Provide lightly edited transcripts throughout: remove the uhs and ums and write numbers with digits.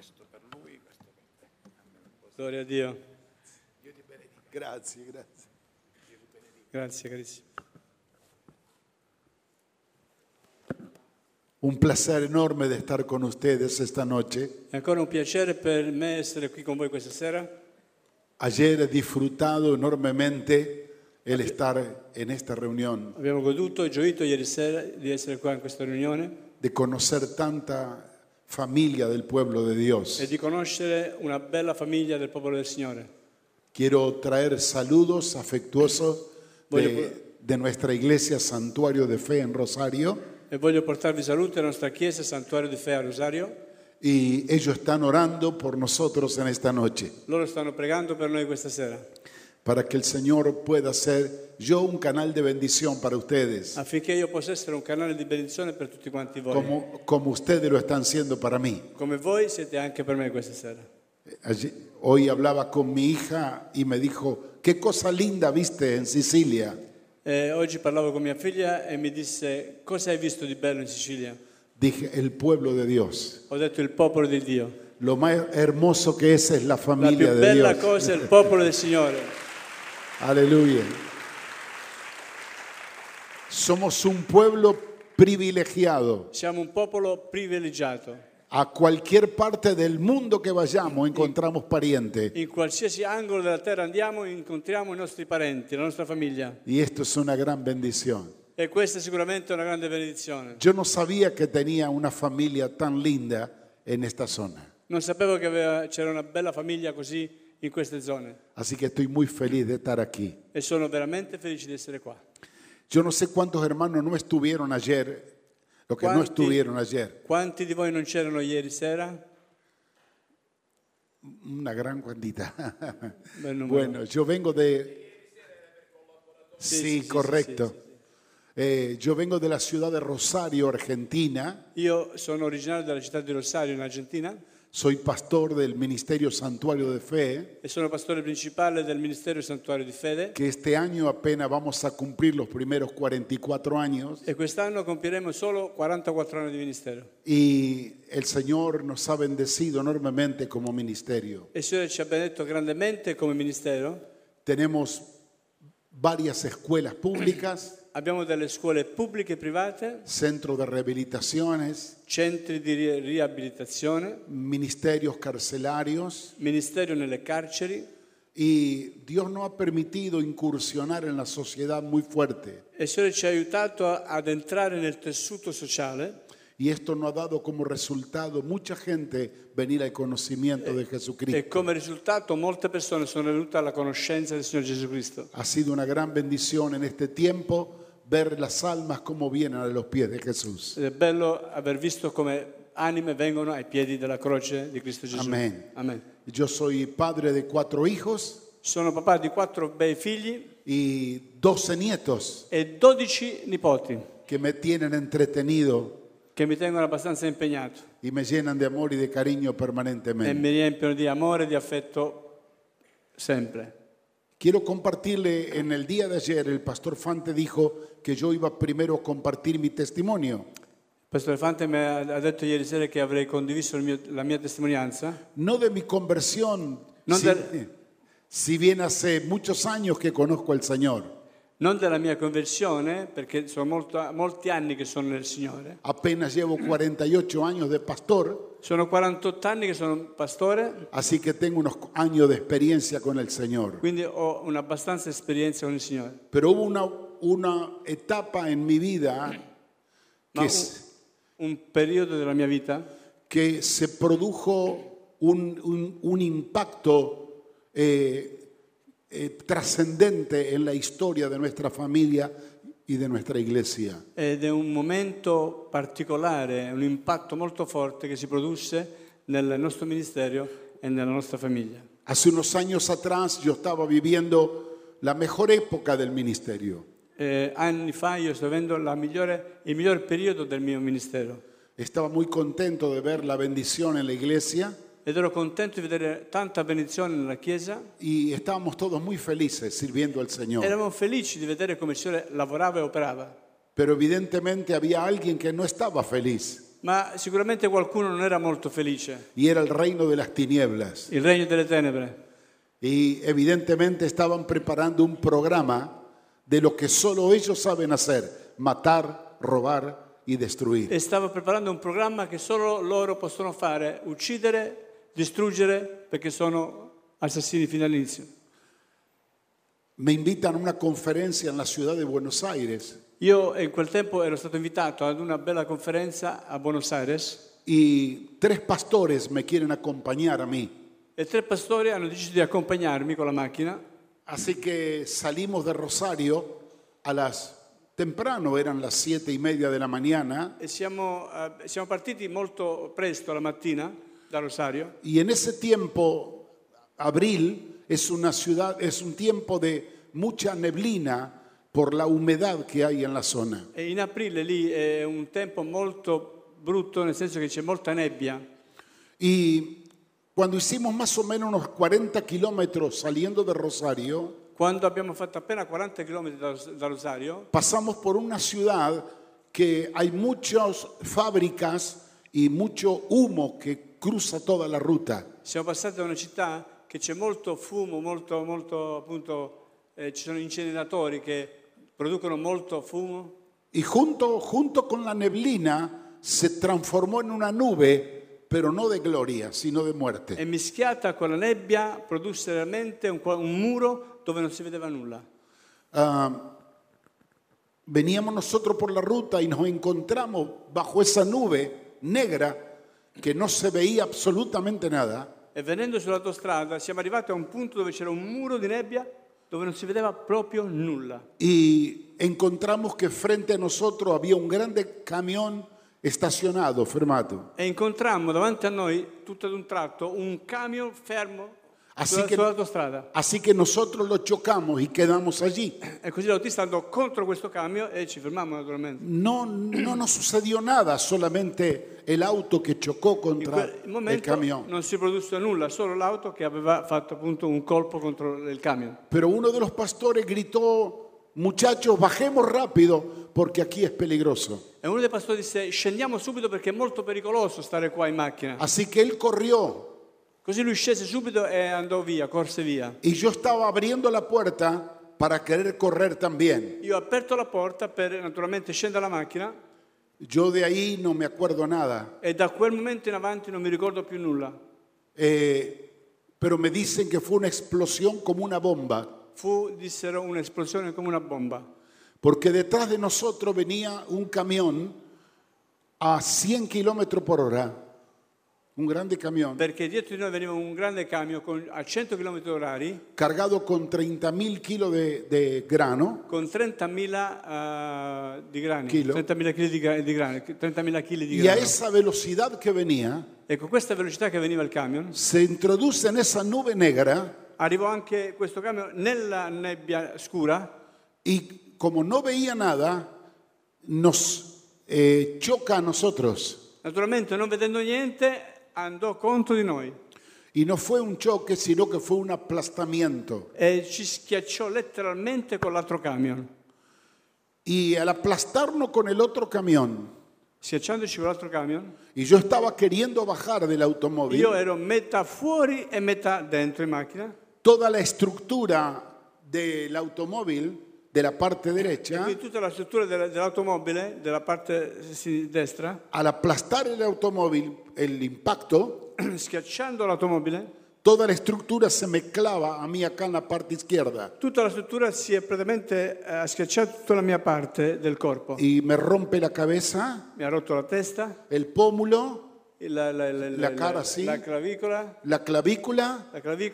Gloria a Dio. Grazie, grazie. Grazie carissimo. Un placer enorme de estar con ustedes esta noche. È ancora un piacere per me essere qui con voi questa sera. Ayer he disfrutado enormemente el estar en esta reunión, Abbiamo goduto e gioito ieri sera di essere qua in questa riunione de conocer tanta familia del pueblo de Dios. e di conoscere una bella famiglia del popolo del Signore. Quiero traer saludos afectuosos de nuestra iglesia Santuario de Fe en Rosario. E voglio portarvi saluti alla nostra chiesa Santuario di Fe a Rosario. Y ellos están orando por nosotros en esta noche, Loro stanno pregando per noi questa sera, para que el Señor pueda ser yo un canal de bendición para ustedes, affinché io possa essere un canale di benedizione per tutti quanti voi, como ustedes lo están siendo para mí. come voi siete anche per me questa sera. Hoy hablaba con mi hija y me dijo, qué cosa linda viste en Sicilia. Oggi parlavo con mia figlia e mi disse: cosa hai visto di bello in Sicilia? Dije, el pueblo de Dios. Ho detto: il popolo di Dio. Lo más hermoso que es la La familia più de bella Dios. cosa è il popolo del Signore. Aleluya. Somos un pueblo privilegiado. Siamo un popolo privilegiato. A cualquier parte del mundo que vayamos encontramos parientes. In qualsiasi angolo della terra andiamo incontriamo i nostri parenti, la nostra famiglia. Y esto es una gran bendición. E questa è sicuramente una grande benedizione. Yo no sabía que tenía una familia tan linda en esta zona. Non sapevo che c'era una bella famiglia così in queste zone. Así que estoy muy feliz de estar aquí. E sono veramente felice di essere qua. Yo no sé cuántos hermanos no estuvieron ayer, los que no estuvieron ayer. Quanti di voi non c'erano ieri sera? Una gran cuantita. Bel numero. Bueno, yo vengo de... Sí, correcto. Yo vengo de la ciudad de Rosario, Argentina. Io sono originario della città di Rosario, in Argentina, Soy pastor del Ministerio Santuario de Fe, e sono pastore principale del Ministero Santuario di Fede. que este año apenas vamos a cumplir los primeros 44 años. E quest'anno compieremo solo 44 anni di ministero. Y el Señor nos ha bendecido enormemente como ministerio. E il Signore ci ha benedetto grandemente come ministero. Tenemos varias escuelas públicas, Abbiamo delle scuole pubbliche e private, centros de rehabilitaciones, centri di riabilitazione, ministerios carcelarios, ministero nelle carceri, y Dios nos ha permitido incursionar en la sociedad muy fuerte. e il Signore ci ha aiutato ad entrare nel tessuto sociale, Y esto nos ha dado como resultado mucha gente venir al conocimiento de e Jesucristo. come risultato molte persone sono venute alla conoscenza del Signore Gesù Cristo. Ha sido una gran bendición en este tiempo ver las almas como vienen a los pies de Jesús. Ed è bello aver visto come anime vengono ai piedi della croce di Cristo Gesù. Amén. Amen. Yo soy padre de 4 hijos Sono papà di 4 bei figli y 12 nietos e 12 nipoti que me tienen entretenido che mi tengono abbastanza impegnato y me llenan de amor y de cariño e permanentemente. mi riempiono di amore e di affetto sempre. Quiero compartirle, en el día de ayer el pastor Fante dijo que yo iba primero a compartir mi testimonio. Il Pastore Fante mi ha detto ieri sera che avrei condiviso la mia testimonianza, No de mi conversión, No si, si bien hace muchos años que conozco al Señor. non della mia conversione, perché sono molti anni che sono nel Signore. Apenas llevo 48 años de pastor, Sono 48 anni che sono pastore, así que tengo unos años de experiencia con el Señor. quindi ho un'abbastanza esperienza con il Signore. Pero hubo una etapa en mi vida Ma un periodo della mia vita que se produjo un impacto trascendente en la historia de nuestra familia y de nuestra iglesia. ed è un momento particolare, un impatto molto forte che si produsse nel nostro ministero e nella nostra famiglia. Hace unos años atrás yo estaba viviendo la mejor época del ministerio. Anni fa io sto vivendo il miglior periodo del mio ministero Estaba muy contento de ver la bendición en la iglesia ed ero contento di vedere tanta benedizione nella Chiesa. y estábamos todos muy felices sirviendo al Señor. Eravamo felici di vedere come il Signore lavorava e operava, Pero evidentemente había alguien que no estaba feliz. Ma sicuramente qualcuno non era molto felice. y era el reino de las tinieblas. Il regno delle tenebre. Y evidentemente estaban preparando un programa de lo que solo ellos saben hacer: matar, robar y destruir. E stava preparando un programma che solo loro possono fare: uccidere, distruggere, perché sono assassini fino all'inizio. Me invitan a una conferencia en la ciudad de Buenos Aires Io in quel tempo ero stato invitato ad una bella conferenza a Buenos Aires y 3 pastores me quieren acompañar a mí. e 3 pastori hanno deciso di accompagnarmi con la macchina. Así que salimos de Rosario temprano, eran las 7:30 de la mañana, E siamo partiti molto presto la mattina da Rosario. y en ese tiempo, abril, es un tiempo de mucha neblina por la humedad que hay en la zona. E in aprile lì è un tempo molto brutto, nel senso che c'è molta nebbia. Y cuando hicimos más o menos unos 40 kilómetros saliendo de Rosario, Quando abbiamo fatto appena 40 km da Rosario, pasamos por una ciudad que hay muchas fábricas y mucho humo que cruza toda la ruta. siamo passati da una città che c'è molto fumo, molto appunto, ci sono inceneritori che producono molto fumo. Y junto con la neblina se transformó en una nube, pero no de gloria, sino de muerte. E mischiata con la nebbia produsse realmente un muro dove non si vedeva nulla. Veníamos nosotros por la ruta y nos encontramos bajo esa nube negra que no se veía absolutamente nada. E venendo sull'autostrada siamo arrivati a un punto dove c'era un muro di nebbia dove non si vedeva proprio nulla. Y encontramos que frente a nosotros había un grande camión estacionado, fermato. E incontrammo davanti a noi, tutto ad un tratto, un camion fermo Así sull'autostrada. Así que nosotros lo chocamos y quedamos allí. E così l'autista andò contro questo camion e ci fermammo naturalmente. No nos sucedió nada, solamente el auto que chocó In contra quel el momento camión. non si produsse nulla, solo l'auto che aveva fatto appunto un colpo contro il camion. Pero uno de los pastores gritó: muchachos, bajemos rápido porque aquí es peligroso. E uno dei pastori disse: scendiamo subito perché è molto pericoloso stare qua in macchina. Así que él corrió Così lui scese subito e andò via, corse via. y yo estaba abriendo la puerta para querer correr también. Io ho aperto la porta per naturalmente scendere dalla macchina Yo de ahí no me acuerdo nada, e da quel momento in avanti non mi ricordo più nulla. pero me dicen que fue una explosión como una bomba, Dissero, un'esplosione come una bomba. porque detrás de nosotros venía un camión a 100 kilómetros por hora, un grande camión, Perché dietro di noi veniva un grande camion a 100 km orari cargado con 30.000 kilos de grano, con 30.000 di grani, Chilo. 30.000 kg di grani, 30.000 kg di y a grano. esa velocidad que venía, E con questa velocità che veniva il camion, se introduce en esa nube negra arrivò anche questo camion nella nebbia scura y como no veía nada, nos choca a nosotros. naturalmente non vedendo niente andò contro di noi Y no fue un choque, sino que fue un aplastamiento. e ci schiacciò letteralmente con l'altro camion. Y al aplastarnos con el otro camión, Schiacciandoci con l'altro camion, y yo estaba queriendo bajar del automóvil, io ero metà fuori e metà dentro in macchina. toda la estructura del automóvil, de la parte derecha, Quindi tutta la struttura dell'automobile, della parte destra, al aplastar el automóvil, el impacto, schiacciando l'automobile, toda la estructura se me clava a mí acá en la parte izquierda tutta la struttura si è praticamente schiacciata tutta la mia parte del corpo. y me rompe la cabeza, Mi ha rotto la testa, el pómulo, la cara, sì. la clavicola, la clavícula,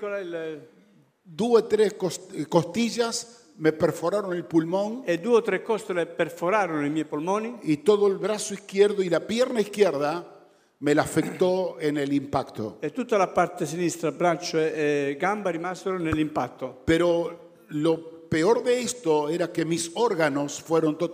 2 2 o 3 costillas, me perforaron el pulmón e 2 o 3 costole perforarono i miei polmoni y todo el brazo izquierdo y la pierna izquierda me la afectó en el impacto. e tutta la parte sinistra, braccio e gamba rimasero nell'impatto. Pero lo peor de esto era que mis órganos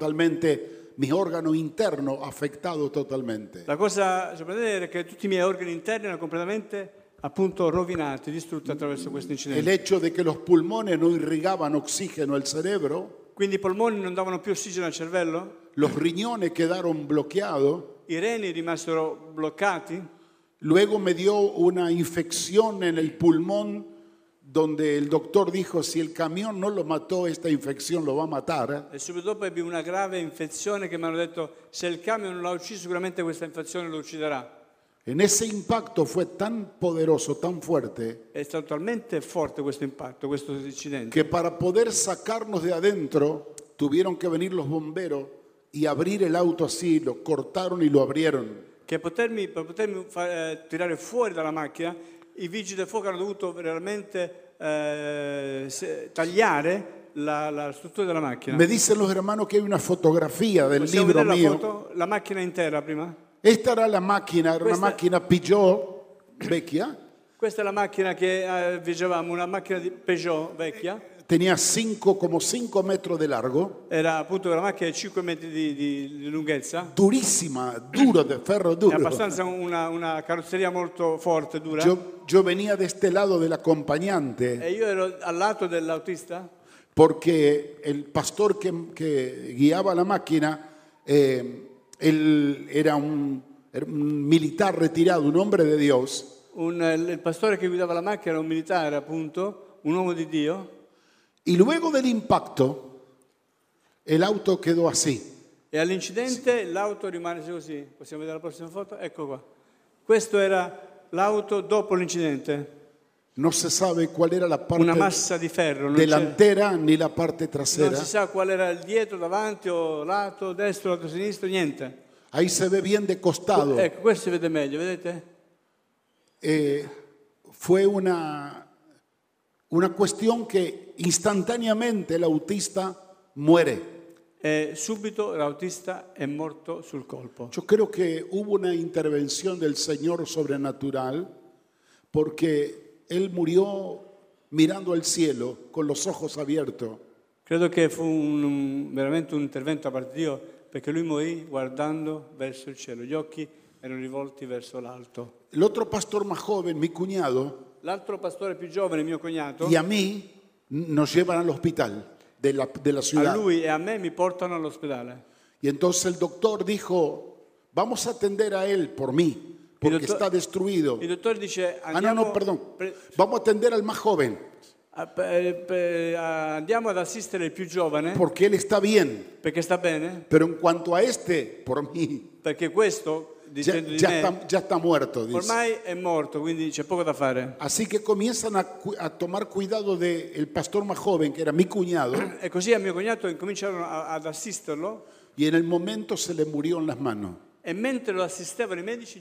internos afectados totalmente. La cosa sorprendente è che tutti i miei organi interni erano completamente appunto rovinati, distrutti attraverso questo El incidente. hecho de que los pulmones no irrigaban oxígeno al cerebro, Quindi i polmoni non davano più ossigeno al cervello, los riñones quedaron bloqueados, i reni rimasero bloccati. Luego me dio una infección en el pulmón donde el doctor dijo, si el camión no lo mató, esta infección lo va a matar. E subito dopo ebbi una grave infezione che mi hanno detto, se il camion non l'ha ucciso, sicuramente questa infezione lo ucciderà. En ese impacto fue tan poderoso, tan fuerte, È stato talmente forte questo impatto, questo incidente, que para poder sacarnos de adentro, tuvieron que venir los bomberos y abrir el auto así, lo cortaron y lo abrieron. che per potermi tirare fuori dalla macchina, i vigili del fuoco hanno dovuto veramente tagliare la struttura della macchina. Me dicen los hermanos que hay una fotografía del Possiamo libro vedere la mío. foto? La macchina intera prima? Esta era la máquina, era una Questa- máquina Peugeot vecchia. Questa è la macchina che vigevamo, una macchina di Peugeot vecchia. Tenía como 5 metros de largo, Era appunto una macchina di 5 metri di lunghezza. durísima, duro, de ferro È duro. abbastanza una carrozzeria molto forte, dura. Yo venía de este lado del acompañante E io ero al lato dell'autista porque el pastor que guiaba la máquina, él era un militar retirado, un hombre de Dios. il pastore che guidava la macchina era un militare, appunto, un uomo di Dio. Y luego del impacto, el auto quedó así. E all'incidente l'auto rimane così. Possiamo vedere la prossima foto? Ecco qua. Questo era l'auto dopo l'incidente. No se sabe cuál era la Una parte massa di ferro. Non, c'è- delantera ni la parte non trasera. si sa qual era il dietro, davanti o lato destro, lato sinistro, niente. Ahí se ve bien de costado. Ecco, questo si vede meglio, vedete? Fue una cuestión que instantáneamente el autista muere. E subito l'autista è morto sul colpo. Yo creo que hubo una intervención del Señor sobrenatural porque Él murió mirando al cielo con los ojos abiertos. Credo che fu veramente un intervento da parte di Dio, perché lui morì guardando verso il cielo. Gli occhi erano rivolti verso l'alto. El otro pastor más joven, mi cuñado, L'altro pastore più giovane, mio cognato, y a mí nos llevan al hospital de la a ciudad. lui e a me mi portano all'ospedale. Y entonces el doctor dijo, vamos a atender a él por mí, porque doctor- está destruido. Il dottore dice, Ah, no, perdón. Vamos a atender al más joven, andiamo ad assistere il più giovane, porque él está bien. perché sta bene, Pero en cuanto a este, por mí, perché questo, ya, dicendo di me, ya está muerto, dice. ormai è morto, quindi c'è poco da fare. Así que comienzan a tomar cuidado del pastor más joven, que era mi cuñado, E così a mio cognato incominciarono ad assisterlo, y en el momento se le murió en las manos. e mentre lo assistevano i medici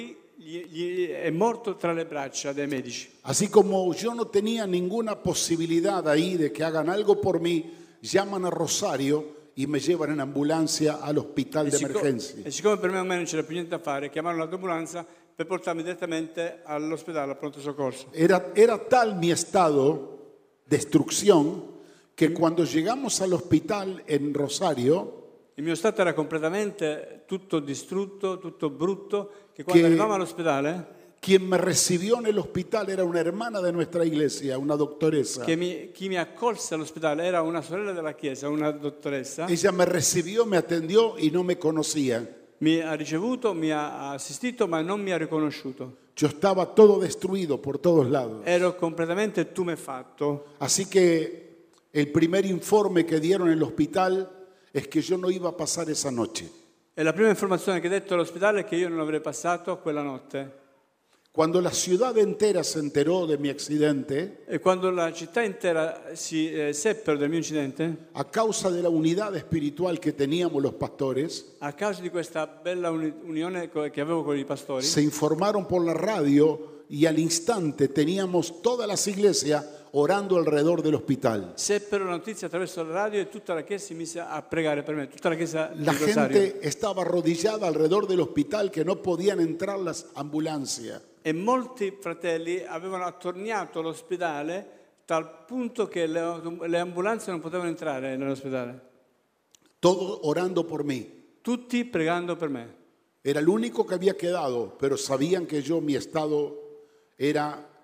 è morto tra le braccia dei medici. Así como yo no tenía ninguna posibilidad ahí de que hagan algo por mí, llaman a Rosario y me llevan en ambulancia al hospital de emergencia. E siccome per me ormai non c'era più niente da fare, chiamarono l'ambulanza per portarmi direttamente all'ospedale, al pronto soccorso. Era tal mi estado de destrucción que cuando llegamos al hospital en Rosario, Il mio stato era completamente tutto distrutto, tutto brutto, che quando arrivavamo all'ospedale, quien me recibió en el hospital era una hermana de nuestra iglesia, una doctoresa. chi mi accolse all'ospedale era una sorella della chiesa, una dottoressa. Ella me recibió, me atendió y no me conocía. Mi ha ricevuto, mi ha assistito, ma non mi ha riconosciuto. Yo estaba todo destruido por todos lados. Ero completamente tumefatto. Así que el primer informe que dieron en el hospital es que yo no iba a pasar esa noche. E la prima informazione che detto all'ospedale è che io non avrei passato quella notte. Cuando la ciudad entera se enteró de mi accidente, E quando la città intera si seppero del mio incidente, a causa de la unidad espiritual que teníamos los pastores, a causa di questa bella unione che avevo con i pastori, se informaron por la radio y al instante teníamos todas las iglesias orando alrededor del hospital. seppero la notizia attraverso la radio e tutta la chiesa si mise a pregare per me, tutta la chiesa di La Rosario. gente estaba arrodillada alrededor del hospital que no podían entrar las ambulancias. E molti fratelli avevano attorniato l'ospedale tal punto che le ambulanze non potevano entrare nell'ospedale. Todos orando por mí. Tutti pregando per me. Era el único que había quedado, pero sabían que mi estado era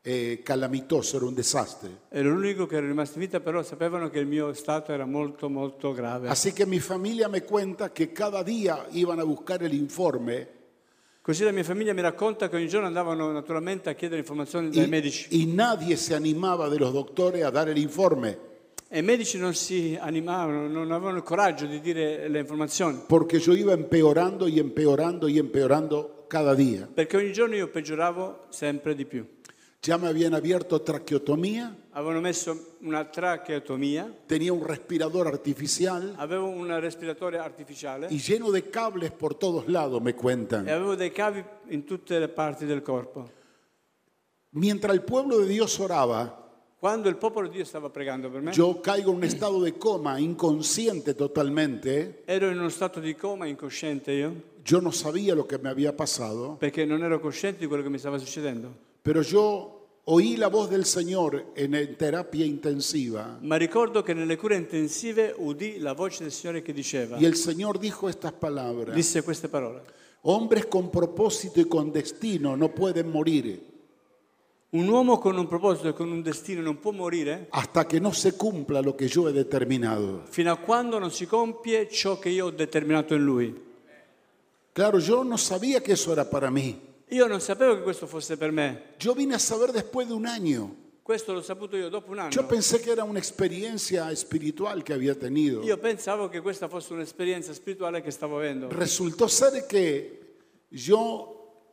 calamitoso, era un desastre. Ero l'unico che era rimasto in vita, però sapevano che il mio stato era molto, molto grave. Así que mi familia me cuenta que cada día iban a buscar el informe Così la mia famiglia mi racconta che ogni giorno andavano naturalmente a chiedere informazioni dai medici. y nadie se animaba de los doctores a dar el informe. E i medici non si animavano, non avevano il coraggio di dire le informazioni. Porque yo iba empeorando y empeorando y empeorando cada día. Perché ogni giorno io peggioravo sempre di più. Ya me habían abierto traqueotomía, Avevano messo una tracheotomia, tenía un respirador artificial avevo un respiratore artificiale y lleno de cables por todos lados, me e cuentan. avevo dei cavi in tutte le parti del corpo. Mientras el pueblo de Dios oraba, Quando il popolo di Dio stava pregando per me, yo caigo en un estado de coma, inconsciente totalmente. ero in uno stato di coma, incosciente io, Yo no sabía lo que me había pasado, perché non ero cosciente di quello che mi stava succedendo. pero yo oí la voz del Señor en terapia intensiva Ma ricordo che nelle cure intensive udì la voce del Signore che diceva, y el Señor dijo estas palabras: disse queste parole. hombres con propósito y con destino no pueden morir Un uomo con un proposito e con un destino non può morire hasta que no se cumpla lo que yo he determinado. fino a quando non si compie ciò che io ho determinato in lui. Claro, yo no sabía que eso era para mí. Io non sapevo che questo fosse per me. Yo vine a saber después de un año. Questo l'ho saputo io dopo un Yo anno. pensé que era una experiencia espiritual que había tenido. Io pensavo che questa fosse un'esperienza spirituale che stavo avendo. Resultó ser que yo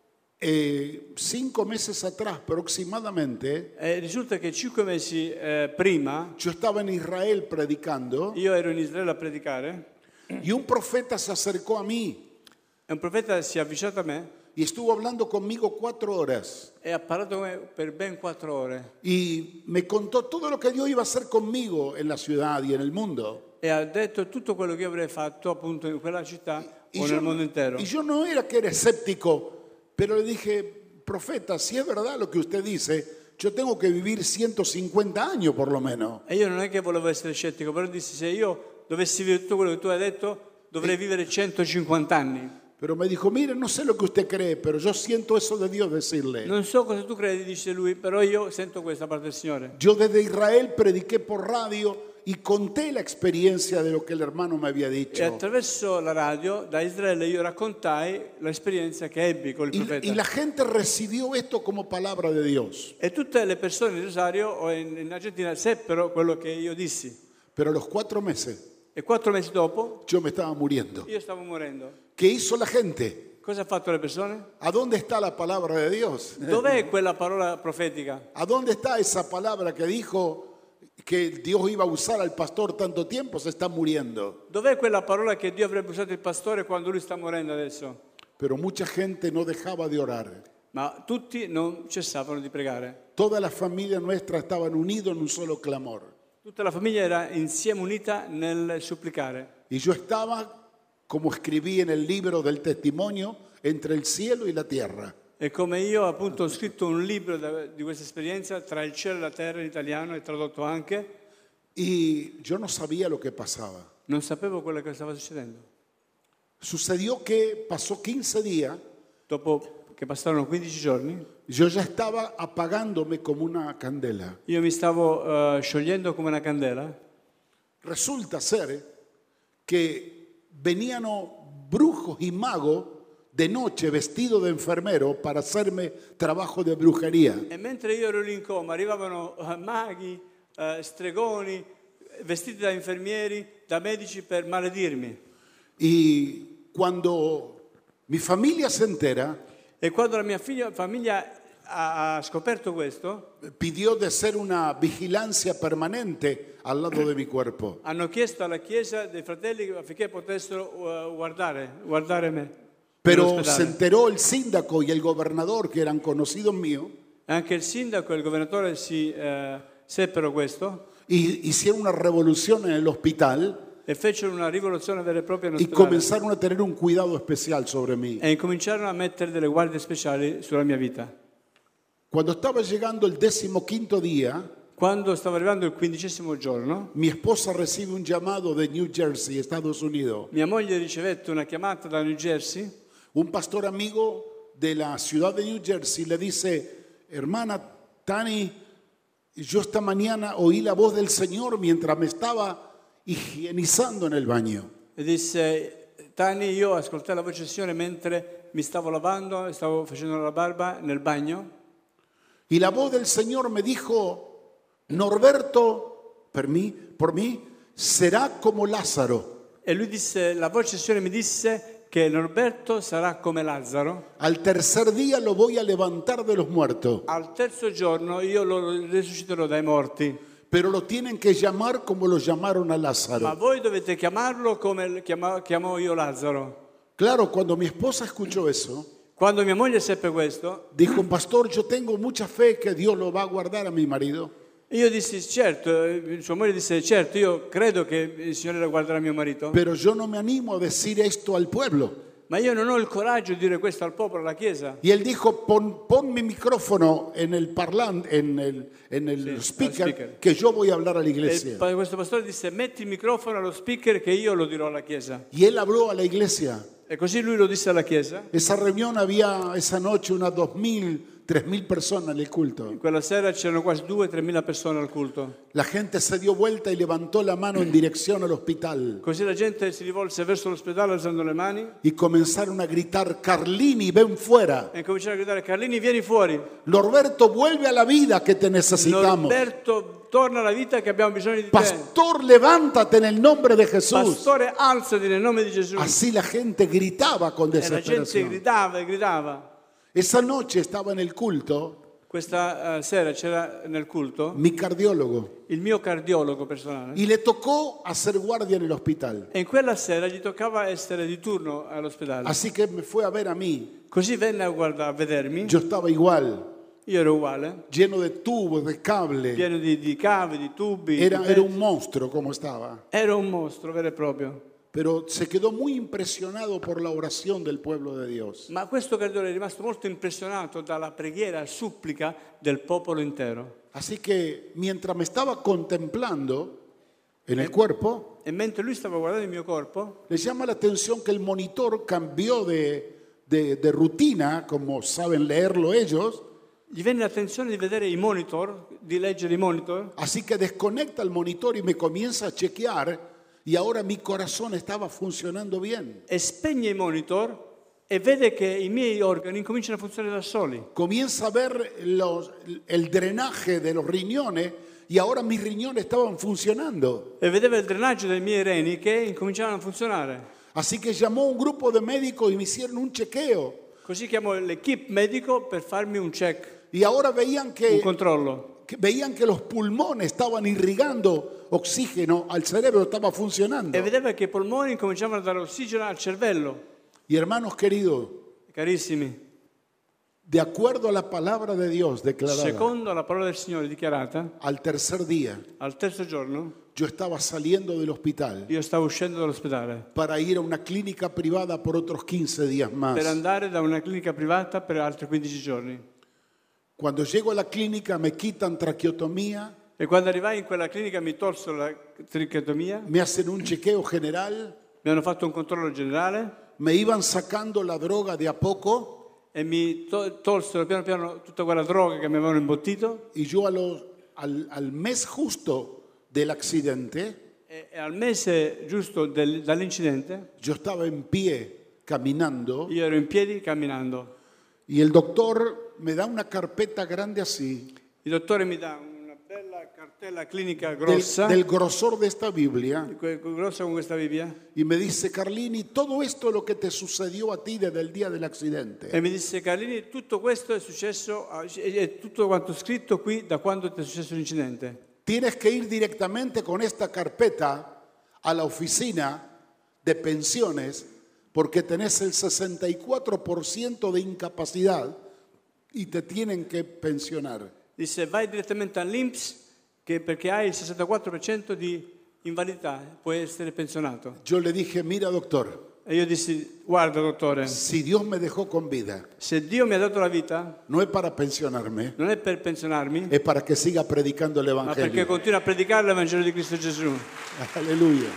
5 meses atrás aproximadamente, E risulta che 5 mesi prima yo estaba en Israel predicando io ero in Israele a predicare y un profeta se acercó a mí e un profeta si è avvicinato a me y estuvo hablando conmigo 4 horas e ha parlato con me per ben 4 ore y me contó todo lo que Dios iba a hacer conmigo en la ciudad y en el mundo. e ha detto tutto quello che io avrei fatto appunto in quella città Y o yo, nel mondo intero. y yo no era que era escéptico, pero le dije: profeta, si es verdad lo que usted dice, yo tengo que vivir 150 años por lo menos. E io non è che volevo essere scettico, però dissi se io dovessi vivere tutto quello che tu hai detto dovrei vivere 150 anni. Pero me dijo: mire, no sé lo que usted cree, pero yo siento eso de Dios decirle. Non so cosa tu credi, dice lui, però io sento questa parte del Signore. Yo desde Israel prediqué por radio y conté la experiencia de lo que el hermano me había E dicho. attraverso la radio da Israele io raccontai l'esperienza che ebbi con il profeta. Y la gente recibió esto como palabra de Dios. E tutte le persone in Rosario o in Argentina seppero quello che io dissi. Pero a los 4 meses E 4 mesi dopo yo me estaba muriendo. io stavo morendo. ¿Qué hizo la gente? Cosa ha fatto le persone? ¿A dónde está la palabra de Dios? Dov'è quella parola profetica? ¿A dónde está esa palabra que dijo que Dios iba a usar al pastor tanto tiempo? Se está muriendo. Dov'è quella parola che Dio avrebbe usato il pastore quando lui sta morendo adesso? Pero mucha gente no dejaba de orar. Ma tutti non cessavano di pregare. Toda la familia nuestra estaban unidos en un solo clamor. Tutta la famiglia era insieme unita nel supplicare. Y yo estaba, como escribí en el libro del testimonio, entre el cielo y la tierra. E come io appunto ho scritto un libro di questa esperienza, Tra il cielo e la terra in italiano, e tradotto anche, Y yo no sabía lo que pasaba. non sapevo quello che stava succedendo. Sucedió que pasó 15 días, Dopo che passarono 15 giorni, yo ya estaba apagándome como una candela. io mi stavo sciogliendo come una candela. Resulta ser que venían brujos y magos de noche vestidos de enfermero para hacerme trabajo de brujería. E mentre io ero lì in coma, arrivavano maghi, stregoni, vestiti da infermieri, da medici per maledirmi. Y cuando mi familia se entera, E quando la mia famiglia ha scoperto questo, pidió de hacer una vigilancia permanente al lado de mi cuerpo. hanno chiesto alla Chiesa dei fratelli affinché potessero guardare me. Pero nell'ospedale. se enteró el síndaco y el gobernador, que eran conocidos míos, Anche il sindaco e il governatore seppero questo y hicieron una revolución en el hospital e fecero una rivoluzione vera e propria y nell'ospedale comenzaron a tener un cuidado especial sobre mí. e incominciarono a mettere delle guardie speciali sulla mia vita. Cuando estaba llegando el 15º día, Quando stavo arrivando il 15° giorno, mi esposa recibe un llamado de New Jersey, Estados Unidos. mia moglie ricevette una chiamata da New Jersey. Un pastor amigo de la ciudad de New Jersey le dice: hermana, Tani, yo esta mañana oí la voz del Señor mientras me estaba igienizando en el baño. E disse, Tani, io ascoltai la voce del Signore mentre mi stavo lavando, stavo facendo la barba nel bagno. Y la voz del Señor me dijo, Norberto, por mí, será como Lázaro. E lui disse, la voce del Signore mi disse che Norberto sarà come Lazzaro. Al tercer día lo voy a levantar de los muertos. Al terzo giorno io lo risusciterò dai morti. Pero lo tienen que llamar como lo llamaron a Ma Lázaro. voi dovete chiamarlo come chiamo io Lazzaro. Claro, cuando mi esposa escuchó eso, Quando mia moglie seppe questo, dijo, pastor, yo tengo mucha fe que Dios lo va a guardar a mi marido. io dissi, certo, sua moglie disse, certo, io credo che il Signore guarderà mio marito, Pero yo no me animo a decir esto al pueblo. ma io non ho il coraggio di dire questo al popolo, alla Chiesa. Y él dijo, pon mi micrófono en el parlante, en el speaker, speaker. que yo voy a hablar a la E iglesia. questo pastore disse, metti il microfono allo speaker che io lo dirò alla Chiesa. Y él habló a la iglesia. E così lui lo disse alla Chiesa. Esa reunión había esa noche unas 2.000, 3.000 personas en el culto. Quella sera c'erano quasi 2-3 mila persone al culto. La gente se dio vuelta y levantó la mano en dirección al hospital. Così la gente si rivolse verso l'ospedale alzando le mani Y comenzaron a gritar, Carlini, ven fuera. e cominciarono a gridare, Carlini, vieni fuori. Norberto, vuelve a la vida que te necesitamos. Norberto, torna alla vita che abbiamo bisogno di te. Pastor, levántate en el nombre de Jesús. Pastore, alzati nel nome di Gesù. Así la gente gritaba con E la gente desesperación. gridava e gridava. Esa noche estaba en el culto Questa sera c'era nel culto mi cardiólogo il mio cardiologo personale. y le tocó hacer guardia en el hospital. E in quella sera gli toccava essere di turno all'ospedale. Así que me fue a ver a mí. Così venne a vedermi. Yo estaba igual, Io ero uguale, lleno de tubos, de cable. pieno di cavi, di tubi. Era di un monstruo como estaba. Ero un mostro vero e proprio. Pero se quedó muy impresionado por la oración del pueblo de Dios. Ma questo cardiologo è rimasto molto impressionato dalla preghiera e supplica del popolo intero. Así que mientras me estaba contemplando en el cuerpo, E mentre lui stava guardando il mio corpo, le llama la atención que el monitor cambió de rutina, como saben leerlo ellos. gli venne l'attenzione di vedere i monitor, di leggere i monitor. Así que desconecta el monitor y me comienza a chequear y ahora mi corazón estaba funcionando bien. E spegne i monitor e vede che i miei organi incominciano a funzionare da soli. Comienza a ver el drenaje de los riñones y ahora mis riñones estaban funcionando. E vedeva il drenaggio dei miei reni che incominciavano a funzionare. Así que llamó un grupo de médicos y me hicieron un chequeo. Così chiamò l'equipe medico per farmi un check, Y ahora veían un que controllo. veían que los pulmones estaban irrigando oxígeno al cerebro, estaba funcionando. E vedeva che i polmoni incominciavano a dare ossigeno al cervello. Y hermanos queridos, Carissimi, de acuerdo a la palabra de Dios declarada, secondo la parola del Signore dichiarata, al tercer día al terzo giorno yo estaba saliendo del hospital io stavo uscendo dall'ospedale para ir a una clínica privada por otros 15 días más. per andare da una clinica privata per altri 15 giorni. Cuando llego a la clínica me quitan traqueotomía, E quando arrivai in quella clinica mi tolsero la trichetomia, me hacen un chequeo general, mi hanno fatto un controllo generale me iban sacando la droga de a poco e mi tolsero piano piano tutta quella droga che mi avevano imbottito. y yo al mes justo del accidente, E al mese giusto dall'incidente yo estaba en pie caminando io ero in piedi camminando. y el doctor me da una carpeta grande así, Il dottore mi dà una bella cartella clinica del, grossa, del grosor de esta Biblia, grossa con questa Bibbia, y me dice, Carlini, todo esto es lo que te sucedió a ti desde el día del accidente. e mi disse: Carlini, tutto questo è successo, è tutto quanto scritto qui da quando ti è successo l'incidente. Tienes que ir directamente con esta carpeta a la oficina de pensiones porque tenés el 64% de incapacidad y te tienen que pensionar. Disse: vai direttamente all'INPS perché hai il 64% di invalidità, puoi essere pensionato. Yo le dije, mira doctor, E io dissi: guarda dottore, si Dios me dejó con vida, se Dio mi ha dato la vita no es para pensionarme, non è per pensionarmi, es para que siga predicando el ma perché Evangelio. continuo a predicare l'Evangelo di Cristo Gesù. Aleluya.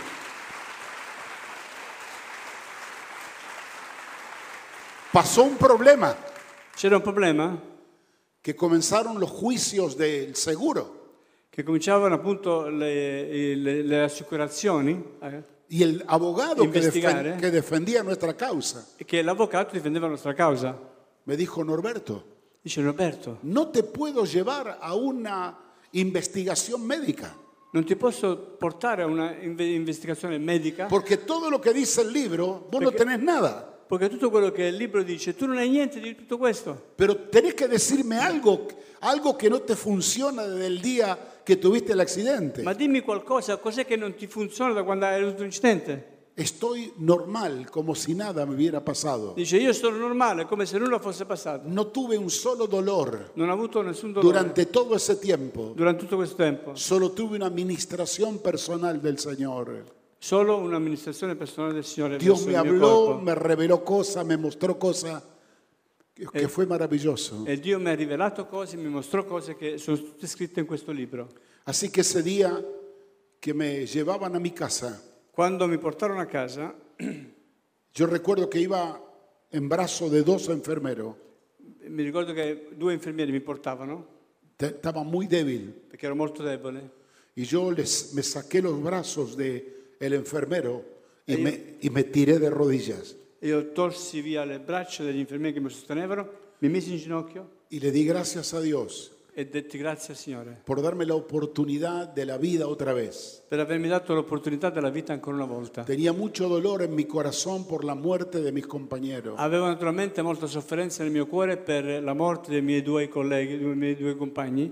Pasó un problema, C'era un problema? que que comenzaron los juicios del seguro. che cominciavano appunto le assicurazioni, Y el abogado Investigare. que defendía nuestra causa e che l'avvocato difendeva la nostra causa. me dijo, Norberto, Dice: Roberto, no te puedo llevar a una investigación médica, non ti posso portare a una investigazione medica porque todo lo que dice el libro, vos no tenés nada. perché tutto quello che il libro dice, tu non hai niente di tutto questo. Pero tenés que decirme algo que no te funciona desde el día que tuviste el accidente. Ma dimmi qualcosa, cos'è che non ti funziona da quando hai avuto l'incidente? Estoy normal, como si nada me hubiera pasado. Dice: io sono normale, come se nulla fosse passato. No tuve un solo dolor Non ho avuto nessun dolore durante todo ese tiempo. durante tutto questo tempo. Solo tuve una administración personal del Señor. Solo un'amministrazione personale del Signore Dios verso me il mio habló, corpo. me reveló cosas, me mostró cosas que fue maravilloso. E Dio mi ha rivelato cose, mi mostrò cose che sono tutte scritte in questo libro. Así que ese día que me llevaban a mi casa, Quando mi portarono a casa, yo recuerdo que iba en brazo de dos enfermeros. mi ricordo che 2 infermieri mi portavano Estaba muy débil. perché ero molto debole. Y yo me saqué los brazos del enfermero y me tiré de rodillas. Io tolsi via le braccia degli infermieri che mi sostenevano, mi misi in ginocchio Y le di gracias a Dios e detti grazie al Signore por darme la oportunidad de la vida otra vez. per avermi dato l'opportunità della vita ancora una volta. Tenía mucho dolor en mi corazón por la muerte de mis compañeros. Avevo naturalmente molta sofferenza nel mio cuore per la morte dei miei 2 colleghi, dei miei 2 compagni.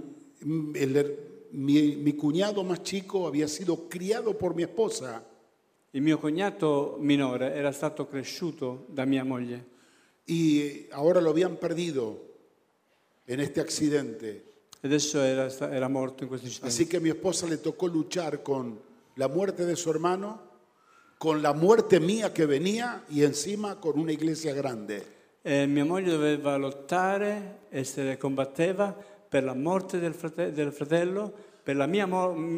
Mi cuñado más chico había sido criado por mi esposa Il mio cognato minore era stato cresciuto da mia moglie y ahora lo habían perdido en este accidente. e adesso era morto in questo incidente. Así que a mi esposa le tocó luchar con la muerte de su hermano, con la muerte mía que venía y encima con una iglesia grande. Mia moglie doveva lottare e se ne combatteva per la morte del fratello, per la mia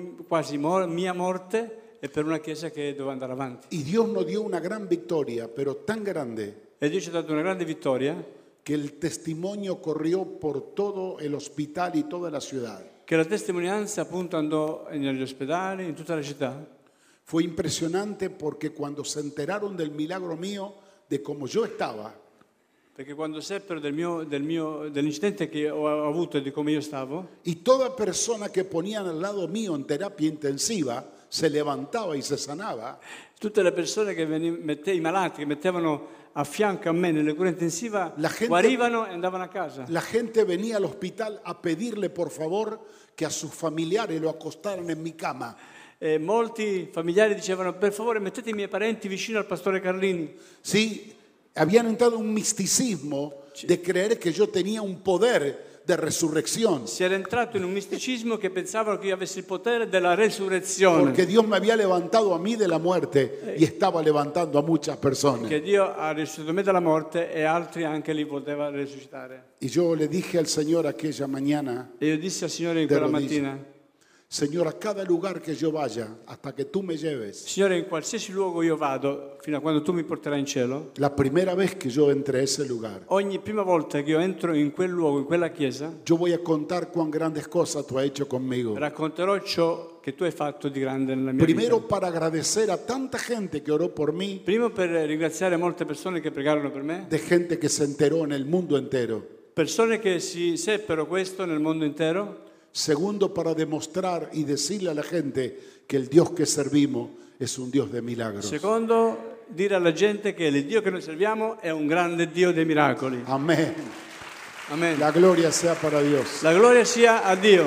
mia morte e per una chiesa che doveva andare avanti. Y Dios nos dio una gran victoria, pero tan grande E Dio ci ha dato una grande vittoria que el testimonio corrió por todo el hospital y toda la ciudad. che la testimonianza appunto andò negli ospedali, in tutta la città. Fue impresionante porque cuando se enteraron del milagro mío, de cómo yo estaba, Perché quando seppero dell'incidente che ho avuto e di come io stavo, y toda persona que ponían al lado mío en terapia intensiva se levantaba y se sanaba, tutte le persone i malati che mettevano a fianco a me nelle cure intensive La gente- guarivano e andavano a casa. la gente venía al hospital a pedirle por favor que a sus familiares lo acostaran en mi cama. E molti familiari dicevano: per favore mettete i miei parenti vicino al pastore Carlini. Sí, habían entrado en un misticismo de creer que yo tenía un poder de resurrección, Si era entrato in un misticismo che pensavano che io avessi il potere della resurrezione, porque Dios me había levantado a mí de la muerte y estaba levantando a muchas personas. che Dio ha risuscitato me dalla morte e altri anche li poteva risuscitare. Y yo le dije al Señor aquella mañana, E io dissi al Signore in De quella rodillas. mattina: Señor, a cada lugar que yo vaya, hasta que tú me lleves, Signore, in qualsiasi luogo io vado, fino a quando tu mi porterai in cielo, la primera vez que yo entre a ese lugar, ogni prima volta che io entro in quel luogo, in quella chiesa, yo voy a contar cuán grandes cosas tú has hecho conmigo. racconterò ciò che tu hai fatto di grande nella mia Primero vita. para agradecer a tanta gente que oró por mí, Primo per ringraziare molte persone che pregarono per me, de gente que se enteró en el mundo entero. persone che si seppero questo nel mondo intero. Segundo, para demostrar y decirle a la gente que el Dios que servimos es un Dios de milagros. Secondo, dire alla gente che il Dio che noi serviamo è un grande Dio dei miracoli. Amén. Amen. La gloria sea para Dios. La gloria sia a Dio.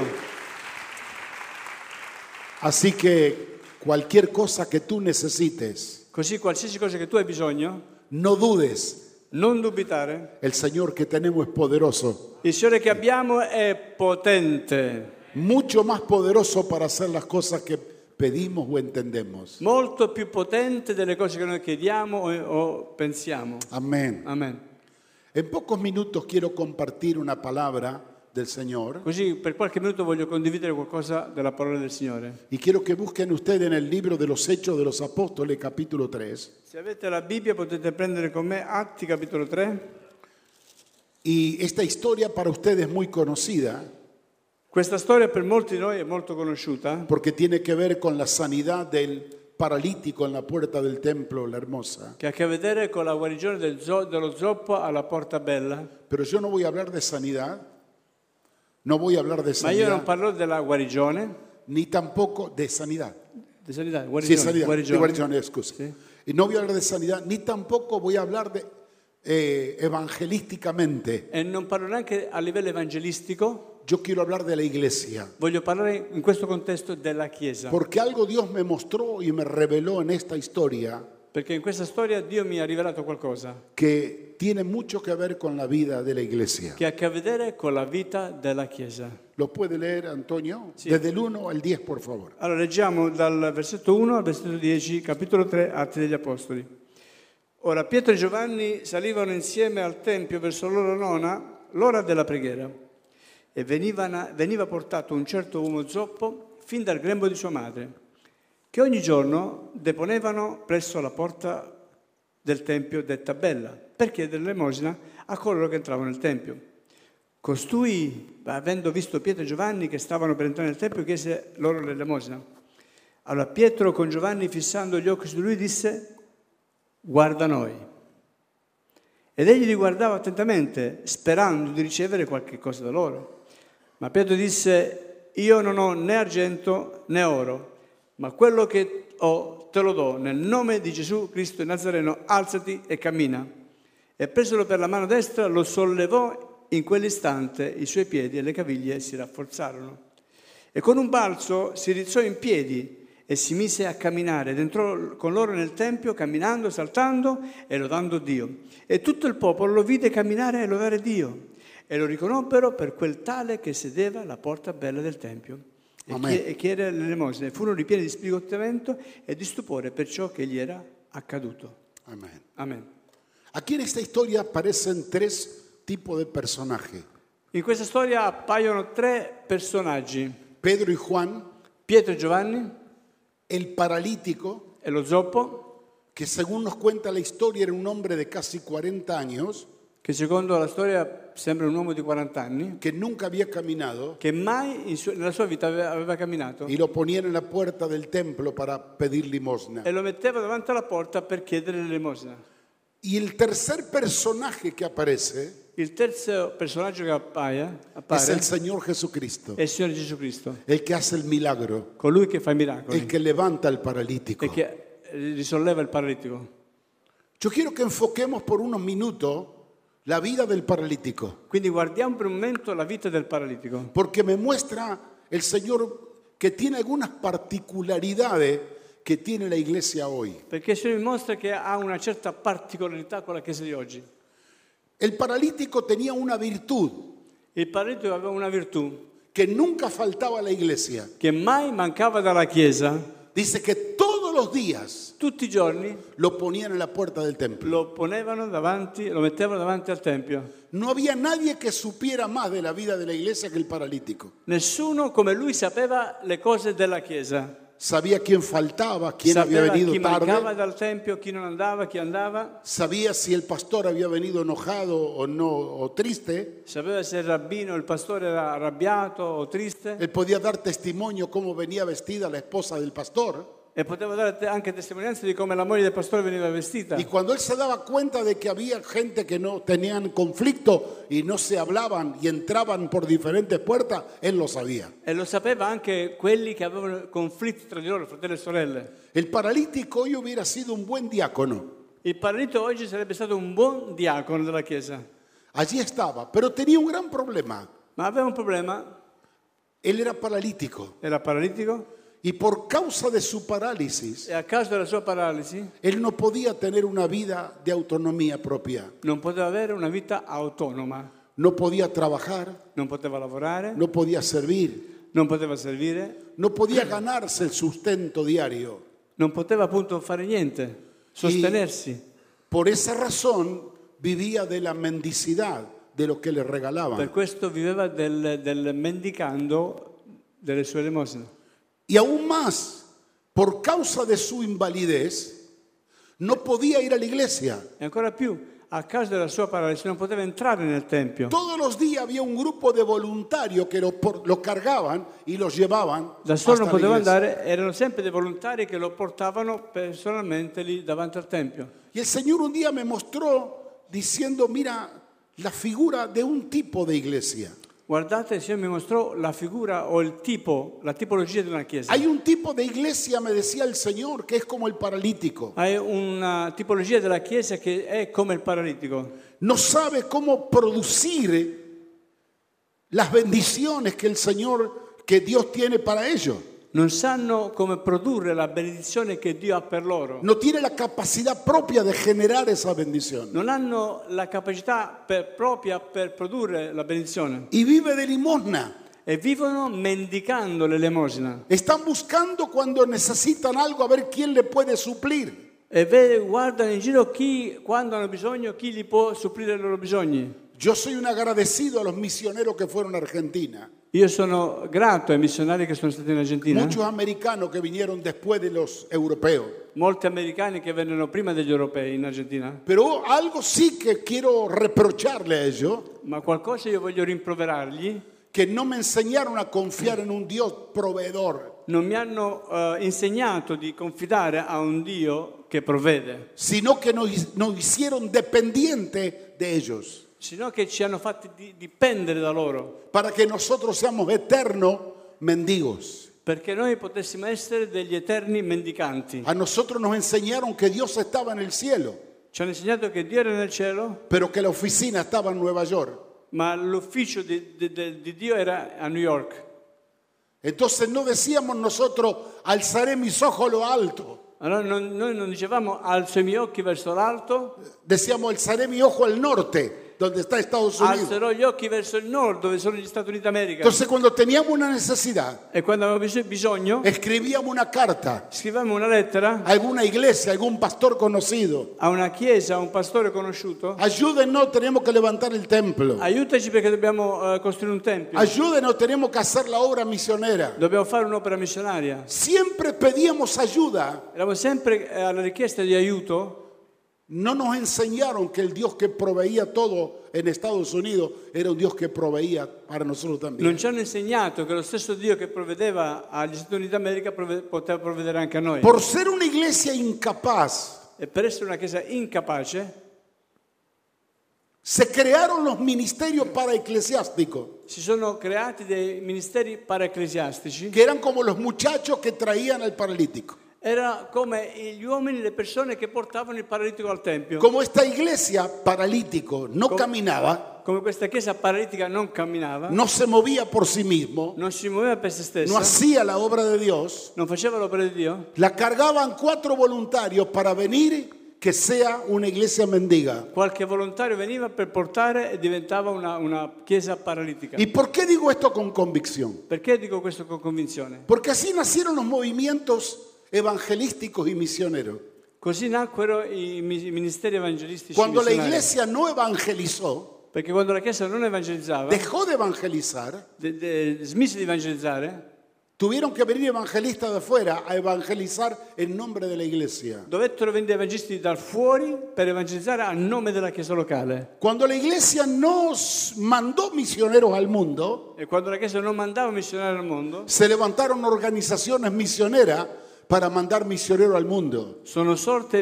Así que cualquier cosa que tú necesites, Così qualsiasi cosa che tu hai bisogno, no dudes. non dubitare. El Señor que tenemos es poderoso, Il Signore che abbiamo è potente, mucho más poderoso para hacer las cosas que pedimos o entendemos. molto più potente delle cose che noi chiediamo o pensiamo. Amén. Amen. En pocos minutos quiero compartir una palabra del Señor Così per qualche minuto voglio condividere qualcosa della parola del Signore. y quiero que busquen ustedes en el libro de los Hechos de los Apóstoles, capítulo 3. Se avete la Bibbia potete prendere con me Atti capitolo 3. Y esta historia para ustedes es muy conocida Questa storia per molti di noi è molto conosciuta porque tiene que ver con la sanidad del paralítico en la puerta del templo, la hermosa. che ha a che vedere con la guarigione dello zoppo alla Porta Bella. Pero yo no voy a hablar de sanidad, no voy a hablar de Ma io non sanidad, parlo della guarigione, ni tampoco de sanidad. di sanità, Sí, guarigione, sanidad, de guarigione. guarigione, excusa. Sí. Y no voy a hablar de sanidad, ni tampoco voy a hablar de evangelísticamente. E non parlo neanche a livello evangelistico, Yo quiero hablar de la iglesia. voglio parlare in questo contesto della Chiesa. Porque algo Dios me mostró y me reveló en esta historia Perché in questa storia Dio mi ha rivelato qualcosa que tiene mucho que ver con la vida de la iglesia. che ha a che vedere con la vita della Chiesa. ¿Lo puede leer, Antonio? Sí. Desde el 1 al 10, por favor. Allora leggiamo dal versetto 1 al versetto 10, capitolo 3, Atti degli Apostoli. Ora Pietro e Giovanni salivano insieme al Tempio verso l'ora della preghiera e veniva portato un certo uomo zoppo fin dal grembo di sua madre, che ogni giorno deponevano presso la porta del Tempio detta Bella, per chiedere l'elemosina a coloro che entravano nel Tempio. Costui, avendo visto Pietro e Giovanni che stavano per entrare nel Tempio, chiese loro l'elemosina. Allora Pietro con Giovanni, fissando gli occhi su di lui, disse: guarda noi. Ed egli li guardava attentamente, sperando di ricevere qualche cosa da loro. Ma Pietro disse: io non ho né argento né oro, ma quello che ho te lo do. Nel nome di Gesù Cristo il Nazareno, alzati e cammina. E presolo per la mano destra lo sollevò. In quell'istante i suoi piedi e le caviglie si rafforzarono. E con un balzo si rizzò in piedi e si mise a camminare ed entrò con loro nel Tempio, camminando, saltando e lodando Dio. E tutto il popolo lo vide camminare e lodare Dio. E lo riconobbero per quel tale che sedeva alla porta bella del Tempio. E chiede l'elemosina. Furono ripieni di sbigottimento e di stupore per ciò che gli era accaduto. Amén. Amen. Aquí en esta historia aparecen tres tipos de personajes. In questa storia appaiono tre personaggi: Pedro y Juan, Pietro e Giovanni el paralítico, e lo zoppo, que según nos cuenta la historia era un hombre de casi 40 años, che secondo la storia sembra un uomo di 40 anni, que nunca había caminado, che mai nella sua vita aveva camminato, y lo ponían en la puerta del templo para pedir limosna. e lo metteva davanti alla porta per chiedere l'elemosina. Y el tercer personaje que aparece Il terzo personaggio che appare es el Señor Jesucristo, è il Signore Gesù Cristo, el que hace el milagro, colui che fa i miracoli el que levanta al paralítico. e che risolleva il paralitico. Yo quiero que enfoquemos por unos minutos la vida del paralítico, Quindi guardiamo per un momento la vita del paralitico, porque me muestra el Señor que tiene algunas particularidades que tiene la iglesia hoy. perché il Signore mi mostra che ha una certa particolarità con la Chiesa di oggi. El paralítico tenía una virtud Il paralitico aveva una virtù que nunca faltaba a la iglesia. che mai mancava dalla Chiesa. Dice que todos los días Tutti i giorni lo ponían en la puerta del templo. lo mettevano davanti al Tempio. No había nadie que supiera más de la vida de la iglesia que el paralítico. Nessuno come lui sapeva le cose della Chiesa. Sabía quién faltaba, quién había Sapeva venido chi mancava tarde. dal Tempio, chi non andava, chi andava. Sabía si el pastor había venido enojado o no, o triste. Sapeva se il rabbino, il pastore era arrabbiato o triste. Él podía dar testimonio cómo venía vestida la esposa del pastor. E poteva dare anche testimonianza di come la moglie del pastore veniva vestita. Y cuando él se daba cuenta de que había gente que no tenían conflicto y no se hablaban y entraban por diferentes puertas, él lo sabía. E lo sapeva anche quelli che avevano conflitti tra di loro, fratelli e sorelle. El paralítico hoy hubiera sido un buen diácono. Il paralitico oggi sarebbe stato un buon diacono della Chiesa. Allí estaba, pero tenía un gran problema. Ma aveva un problema, Él era paralítico era paralitico y por causa de su parálisis, e a causa della sua paralisi él no podía tener una vida de autonomía propia. non poteva avere una vita autonoma, No podía trabajar, non poteva lavorare, no podía servir, non poteva servire, no podía ganarse el sustento diario. non poteva appunto fare niente, sostenersi. Por esa razón vivía de la mendicidad, de lo que le Per regalaban. questo viveva del mendicando delle sue elemosine. Y aún más, por causa de su invalidez, no podía ir a la iglesia. E ancora più, a causa della sua paralisi non poteva entrare nel Tempio. Todos los días había un grupo de voluntarios que lo cargaban y los llevaban Da solo non hasta la poteva iglesia. andare, erano sempre dei volontari che lo portavano personalmente lì davanti al Tempio. Y el Señor un día me mostró diciendo, mira, la figura de un tipo de iglesia. Guardate, il Signore mi mostrò la figura o il tipo, la tipologia di una chiesa. Hay un tipo de iglesia, me decía el Señor, que es como el paralítico. Hai una tipologia della chiesa che è come il paralitico. No sabe cómo producir las bendiciones que el Señor, que Dios tiene para ellos. Non sanno come produrre la benedizione che Dio ha per loro. No tiene la capacidad propia de generar esa bendición. Non hanno la capacità propria per produrre la benedizione. Y vive de limosna. E vivono mendicando l'elemosina. Están buscando cuando necesitan algo a ver quién le puede suplir. E guardano in giro quando hanno bisogno, chi gli può supplire i loro bisogni. Yo soy un agradecido a los misioneros que fueron a Argentina. Io sono grato ai missionari che sono stati in Argentina. Muchos americanos que vinieron después de los europeos. Molti americani che vennero prima degli europei in Argentina. Pero algo sí que quiero reprocharle a ellos, Ma qualcosa io voglio rimproverargli. que no me enseñaron a confiar en un Dios proveedor, Non mi hanno insegnato di confidare a un Dio che provvede, sino que nos hicieron dependientes de ellos, sino che ci hanno fatti dipendere da loro, para que nosotros seamos eternos mendigos. perché noi potessimo essere degli eterni mendicanti. A nosotros nos enseñaron que Dios estaba en el cielo, Ci hanno insegnato che Dio era nel cielo, pero que la oficina estaba en Nueva York. ma l'ufficio di Dio era a New York. Entonces no decíamos nosotros, alzaré mis ojos a lo alto. Allora noi non dicevamo alzo i miei occhi verso l'alto, Decíamos, alzaré mi ojo al norte, donde está Estados Unidos. alzerò gli occhi verso il nord dove sono gli Stati Uniti d'America. Entonces cuando teníamos una necesidad, E quando avevamo bisogno, escribíamos una carta scrivevamo una lettera a alguna iglesia, a algún pastor conocido. a una chiesa, a un pastore conosciuto. Ayúdenos, tenemos que levantar el templo. Aiutaci perché dobbiamo costruire un tempio. Ayúdenos, tenemos que hacer la obra misionera. Dobbiamo fare un'opera missionaria. Siempre pedíamos ayuda. Eravamo sempre alla richiesta di aiuto. No nos enseñaron que el Dios que proveía todo en Estados Unidos era un Dios que proveía para nosotros Non también. ci hanno insegnato che lo stesso Dio che provvedeva agli Stati Uniti d'America poteva provvedere anche a noi. Por ser una iglesia incapaz, E per essere una chiesa incapace, se crearon los ministerios para eclesiásticos, si sono creati dei ministeri paraecclesiastici. que eran como los muchachos que traían al paralítico. Era come gli uomini, le persone che portavano il paralitico al tempio. Como esta iglesia paralítico no caminaba, Come questa chiesa paralitica non camminava, no se movía por sí mismo, non si muoveva per se stessa, no hacía la obra de Dios, non faceva l'opera di Dio, la cargaban 4 voluntarios para venir, que sea una iglesia mendiga. qualche volontario veniva per portare e diventava una chiesa paralitica. ¿Y por qué digo esto con convicción? Perché dico questo con convinzione? Porque así nacieron los movimientos evangelísticos y misioneros. Così nacquero i ministeri evangelistici Cuando la missionari. iglesia no evangelizó, Perché quando la chiesa non evangelizzava, dejó de evangelizar, smise di evangelizzare, tuvieron que venir evangelistas de afuera a evangelizar en nombre de la iglesia. dovettero venire evangelisti da fuori per evangelizzare a nome della chiesa locale. Cuando la iglesia nos mandó misioneros al mundo, E quando la chiesa non mandava missionari al mondo, se levantaron organizaciones misioneras para mandar misioneros al mundo. sono sorte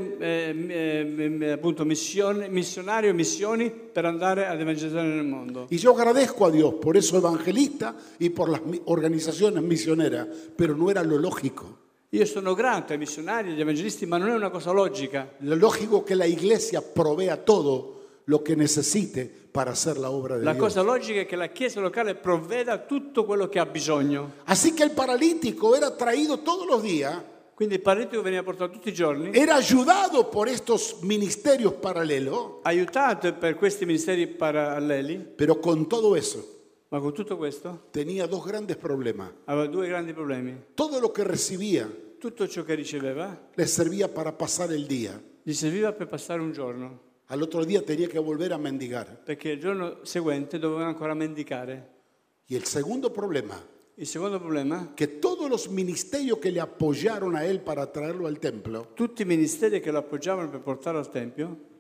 appunto missionari o missioni per andare ad evangelizzare nel mondo. Y yo agradezco a Dios por esos evangelistas y por las organizaciones misioneras, pero no era lo lógico. Io sono grato ai missionari, agli evangelisti, ma non è una cosa logica. Lo lógico es que la iglesia provea todo lo que necesite para hacer la obra de La Dios. cosa logica è che la chiesa locale provveda tutto quello che ha bisogno. Así que el paralítico era traído todos los días, Quindi il paralitico veniva portato tutti i giorni, era ayudado por estos ministerios paralelos, aiutato per questi ministeri paralleli, pero con todo eso ma con tutto questo tenía 2 grandes problemas. aveva 2 grandi problemi. Todo lo que recibía Tutto ciò che riceveva le servía para pasar el día. gli serviva per passare un giorno, Al otro día tenía que volver a mendigar. perché il giorno seguente doveva ancora mendicare. Y el segundo problema, Il secondo problema, que todos los ministerios que le apoyaron a él para traerlo al templo, tutti i ministeri che lo appoggiavano per portarlo al Tempio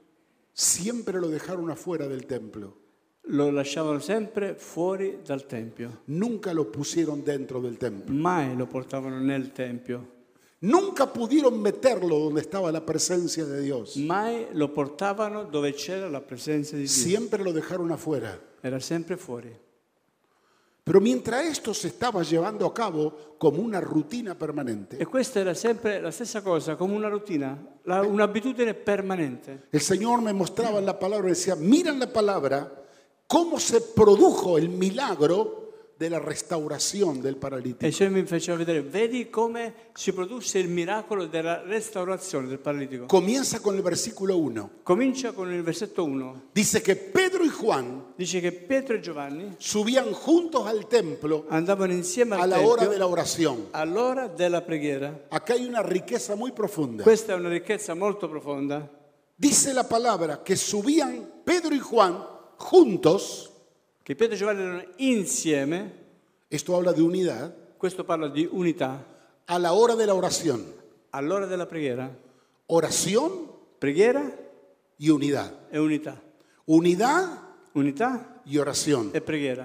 siempre lo dejaron afuera del templo. lo lasciavano sempre fuori dal Tempio. Nunca lo pusieron dentro del templo. Mai lo portavano nel Tempio. Nunca pudieron meterlo donde estaba la presencia de Dios. Mai lo portavano dove c'era la presenza di Dio. Siempre lo dejaron afuera. Era sempre fuori. Pero mientras esto se estaba llevando a cabo como una rutina permanente, E questa era sempre la stessa cosa, come una routine, un'abitudine permanente. el Señor me mostraba en la palabra y decía, mira en la palabra cómo se produjo el milagro de la restauración del E paralítico. il Signore mi faceva vedere, vedi come si produsse il miracolo della restaurazione del paralitico. Comienza con el versículo 1. Comincia con il versetto 1. Dice que Pedro y Juan Dice che Pietro e Giovanni subían juntos al templo andavano insieme a al la hora de Tempio la oración. all'ora della preghiera. Acá hay una riqueza muy profunda. Questa è una ricchezza molto profonda. Dice la palabra que subían Pedro y Juan juntos. Che Pietro e Giovanni erano insieme, Esto habla de unidad. questo parla di unità, A la hora de la oración. all'ora della preghiera. Oración Preghiera y unidad. e unità. Unidad Unità y oración. e preghiera.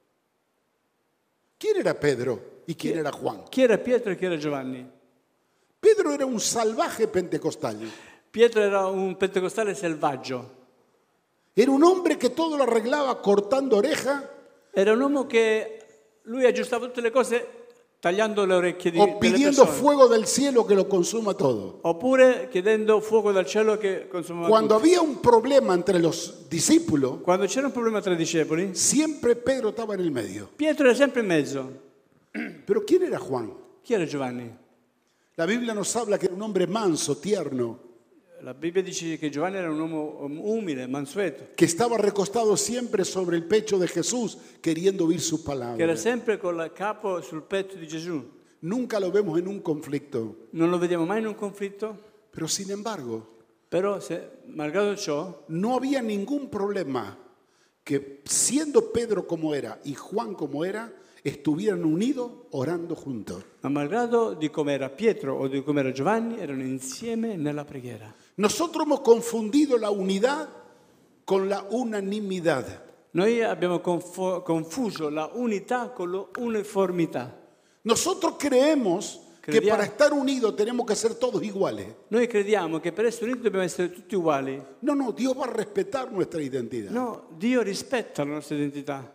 ¿Quién era Pedro y quién era Juan? Chi era Pietro e chi era Giovanni? Pedro era un salvaje pentecostal. Pietro era un pentecostale selvaggio. Era un hombre que todo lo arreglaba cortando oreja Era un uomo che lui aggiustava tutte le cose tagliando le orecchie o delle pidiendo persone. fuego del cielo que lo consuma todo. Oppure chiedendo fuoco dal cielo che consumava Cuando tutto. había un problema entre los discípulos, Quando c'era un problema tra i discepoli, siempre Pedro estaba en el medio. Pietro era sempre in mezzo. Pero ¿quién era Juan? Chi era Giovanni? La Biblia nos habla que era un hombre manso, tierno, La Bibbia dice che Giovanni era un uomo umile, mansueto, que estaba recostado siempre sobre el pecho de Jesús, queriendo oír su che era palabra. sempre con il capo sul petto di Gesù. Nunca lo vemos en un conflicto. Non lo vediamo mai in un conflitto, Pero sin embargo, però malgrado ciò no había ningún problema que siendo Pedro como era y Juan como era, estuvieran unidos orando juntos. ma malgrado di come era Pietro o di come era Giovanni, erano insieme nella preghiera. Nosotros hemos confundido la unidad con la unanimidad. Noi abbiamo confuso la unità con l'uniformità. Nosotros creemos que Crediamo. para estar unidos tenemos que ser todos iguales. Noi crediamo che per essere uniti dobbiamo essere tutti uguali. No, Dios va a respetar nuestra identidad. No, Dio rispetta la nostra identità.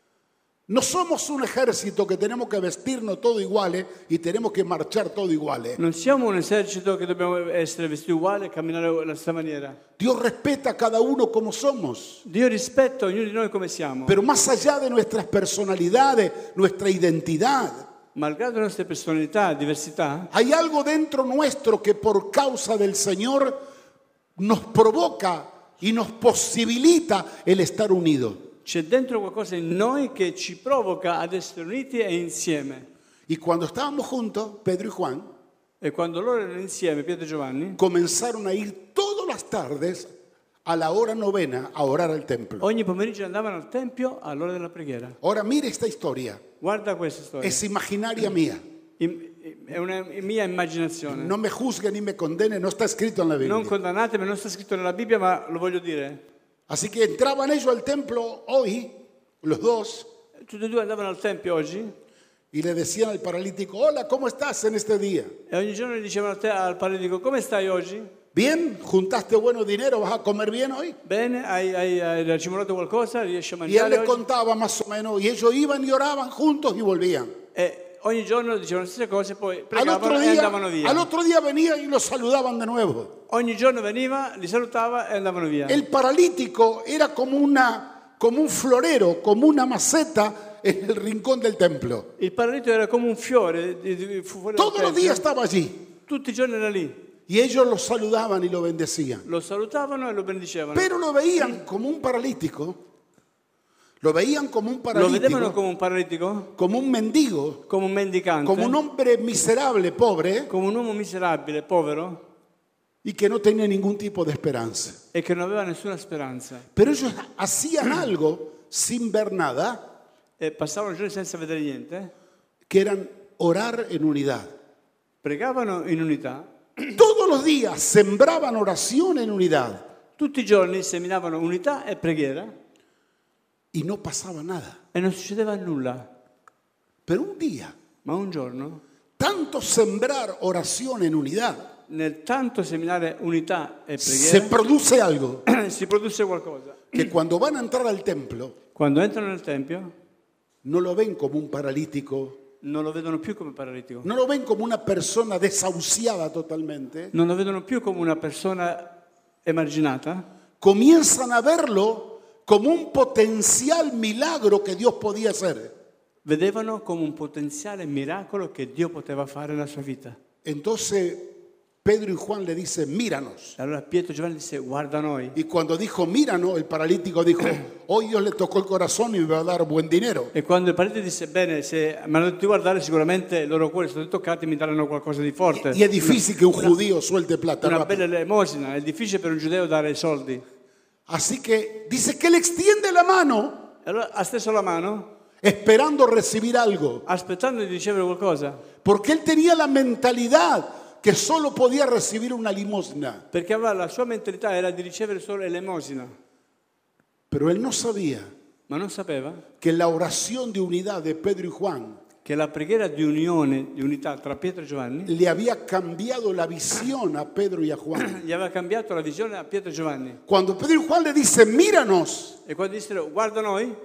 No somos un ejército que tenemos que vestirnos todos iguales y tenemos que marchar todos iguales. Non siamo un esercito che dobbiamo essere vestiti uguali e camminare alla stessa maniera. Dios respeta a cada uno como somos. Dio rispetta ognuno di noi come siamo. Pero más allá de nuestras personalidades, nuestra identidad, Malgrado le nostre personalità, diversità, hay algo dentro nuestro que por causa del Señor nos provoca y nos posibilita el estar unidos. c'è dentro qualcosa in noi che ci provoca ad essere uniti e insieme. Y cuando estábamos juntos, Pedro y Juan E quando loro erano insieme, Pietro e Giovanni, comenzaron a ir todas las tardes a la hora novena a orar al templo. ogni pomeriggio andavano al Tempio all'ora della preghiera. Ahora mire esta historia, Guarda questa storia. es imaginaria mía. È una mia immaginazione. No me juzgue ni me condene, no está escrito en la Non Biblia. condannatemi, non sta scritto nella Bibbia, ma lo voglio dire. Así que entraban ellos al templo hoy, los dos, Tutti e due andavano al Tempio oggi y le decían al paralítico, hola, ¿cómo estás en este día? e ogni giorno gli dicevano al paralitico, come stai oggi? Bien, juntaste bueno dinero, ¿vas a comer bien hoy? Bene, hai racimolato qualcosa? Riesci a Y él mangiare le oggi? contaba más o menos, y ellos iban y oraban juntos y volvían. E ogni giorno dicevano le stesse cose, poi Al pregavano e andavano via. otro día venían y los saludaban de nuevo. Ogni giorno veniva, li salutava e andavano via. El paralítico era como un florero, como una maceta en el rincón del templo. Il paralitico era come un fiore fuori dal Todos los tempio. días estaba allí. Tutti i giorni era lì. Y ellos lo saludaban y lo bendecían. Lo salutavano e lo benedicevano. Pero lo veían como un paralítico. Lo veían como un Lo vedevano paralítico, come un paralitico, como un mendigo, come un mendicante, como un hombre miserable, pobre, come un uomo miserabile, povero, y que no tenía ningún tipo de esperanza. e che non aveva nessuna speranza. Pero ellos hacían algo sin ver nada, E passavano giorni senza vedere niente, que eran orar en unidad. pregavano in unità, Todos los días sembraban oración en unidad. Tutti i giorni seminavano unità e preghiera y no pasaba nada. e non succedeva nulla. Pero un día, Ma un giorno, tanto sembrar oración en unidad, nel tanto seminare unità e se preghiera, produce algo si produsse qualcosa. que cuando van a entrar al templo Quando entrano nel Tempio no lo ven como un paralítico, non lo vedono più come paralitico, no lo ven como una persona desahuciada totalmente, non lo vedono più come una persona emarginata, comienzan a verlo como un potencial milagro que Dios podía hacer. vedevano come un potenziale miracolo che Dio poteva fare nella sua vita. Entonces Pedro y Juan le dicen, míranos. Allora Pietro e Giovanni disse: guarda noi. Y cuando dijo, míranos, el paralítico dijo, hoy Dios le tocó el corazón y me va a dar buen dinero. E quando il paralitico disse: bene, se mi hanno detto di guardare, sicuramente i loro cuori sono toccati, mi daranno qualcosa di forte. Y es difícil que un judío suelte plata. Una rápido. bella elemosina, è difficile per un giudeo dare i soldi. Así que dice que le extiende la mano E allora ha steso la mano, esperando recibir algo. aspettando di ricevere qualcosa, Porque él tenía la mentalidad que solo podía recibir una limosna. perché aveva la sua mentalità era di ricevere solo l'elemosina, Pero él no sabía ma non sapeva que la oración de unidad de Pedro y Juan che la preghiera di unione, di unità tra Pietro e Giovanni, le había cambiado la visión a Pedro y a Juan. gli aveva cambiato la visione a Pietro e Giovanni. Cuando Pedro y Juan le dicen, míranos, E quando dissero guarda noi,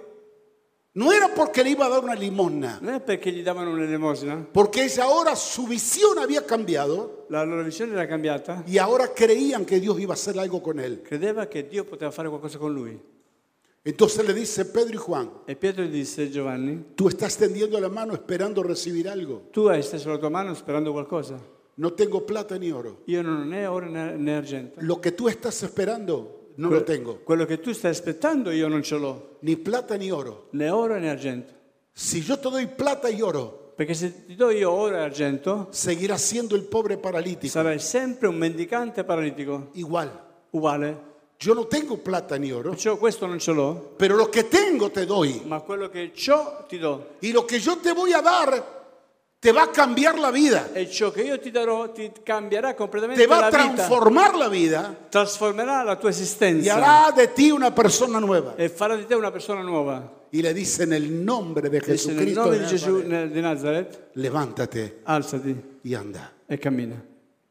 no era porque le iba a dar una limosna, non è perché gli davano un'elemosina, porque ella ahora su visión había cambiado la loro visione era cambiata, y ahora creían que Dios iba a hacer algo con él. credeva che Dio poteva fare qualcosa con lui. Entonces le dice Pedro y Juan, E Pietro gli disse: Giovanni, tú estás tendiendo la mano esperando recibir algo. tu hai steso la tua mano sperando qualcosa. No tengo plata ni oro. Io non ho né oro né argento. Lo que tú estás esperando no lo tengo. Quello che tu stai aspettando io non ce l'ho, Ni plata ni oro. né oro né argento. Si yo te doy plata y oro, Perché se ti do io oro e argento, seguirás siendo el pobre paralítico. sarai sempre un mendicante paralitico, Igual. uguale. Yo no tengo plata ni oro, Perciò questo non ce l'ho, pero lo que tengo te doy. ma quello che ciò ti do. Y lo que yo te voy a dar te va a cambiar la vida. E ciò che io ti darò ti cambierà completamente Te va la a vita, transformar la vida trasformerà la tua y esistenza hará de ti una persona nueva. e farà di te una persona nuova. Y le dice en el nombre de E se nel Jesucristo, nome de di Gesù Nazaret, di Nazareth, levántate alzati y anda. e cammina.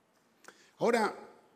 Ahora,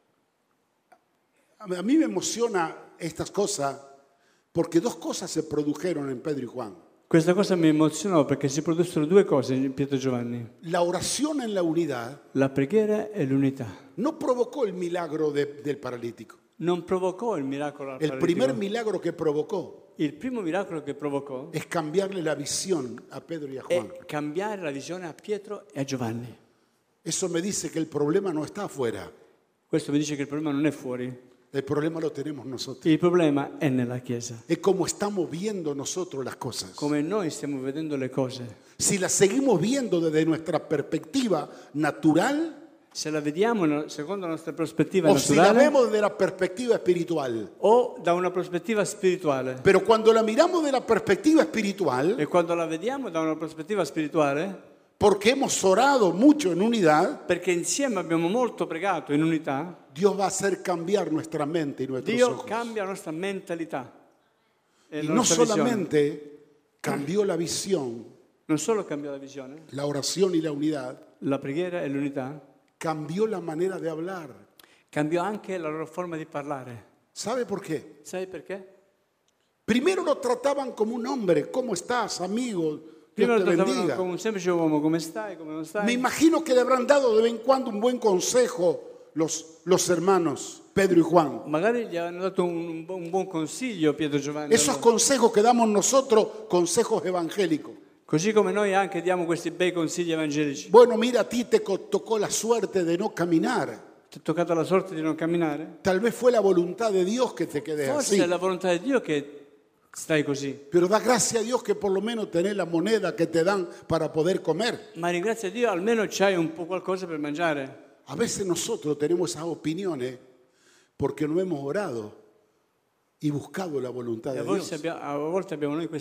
a mí me emociona estas cosas porque dos cosas se produjeron en Pedro y Juan. Questa cosa mi emozionò perché si produssero due cose in Pietro e Giovanni: La oración en la unidad la preghiera e l'unità. no provocó el milagro del paralítico. Non provocò il miracolo al El primer paralitico. milagro que provocó Il primo miracolo che provocò es cambiarle la visión a Pedro y a Juan. è cambiare la visione a Pietro e a Giovanni. Eso me dice que el problema no está afuera, Questo mi dice che il problema non è fuori, el problema lo tenemos nosotros. il problema è nella Chiesa. Es como estamos viendo nosotros las cosas. Come noi stiamo vedendo le cose. Si las seguimos viendo desde nuestra perspectiva natural Se la vediamo secondo la nostra prospettiva o si la naturale vemos desde la perspectiva espiritual. o da una prospettiva spirituale. Pero cuando la miramos de la perspectiva espiritual, E quando la vediamo da una prospettiva spirituale, porque hemos orado mucho en unidad, perché insieme abbiamo molto pregato in unità, Dios va a hacer cambiar nuestra mente y nuestros Dio ojos. cambia la nostra mentalità. E Y la no nostra visione. solamente cambió la visión, Non solo cambiò la visione, la oración y la unidad, la preghiera e l'unità, cambió la manera de hablar. cambiò anche la loro forma di parlare. ¿Sabe por qué? Sai perché? Primero lo trataban como un hombre. ¿Cómo estás, amigo? Prima Dios lo te trattavano bendiga. come un semplice uomo, come stai, come non Me stai. imagino que le habrán dado de vez en cuando un buen consejo los hermanos Pedro y Juan. Magari gli hanno dato un buon consiglio Pietro e Giovanni. Esos consejos que damos nosotros, consejos evangélicos. Così come noi anche diamo questi bei consigli evangelici. Bueno, mira, a ti te tocó la suerte de no caminar. Ti è toccata la sorte di non camminare? Tal vez fue la voluntad de Dios que te quedes Forse así. è la volontà di Dio che stai così. Pero da gracia a Dios que por lo menos tenés la moneda que te dan para poder comer. Ma ringrazia Dio, almeno c'hai un po' qualcosa per mangiare. A veces nosotros tenemos esas opiniones porque no hemos orado y buscado la voluntad E de Dios. a volte abbiamo noi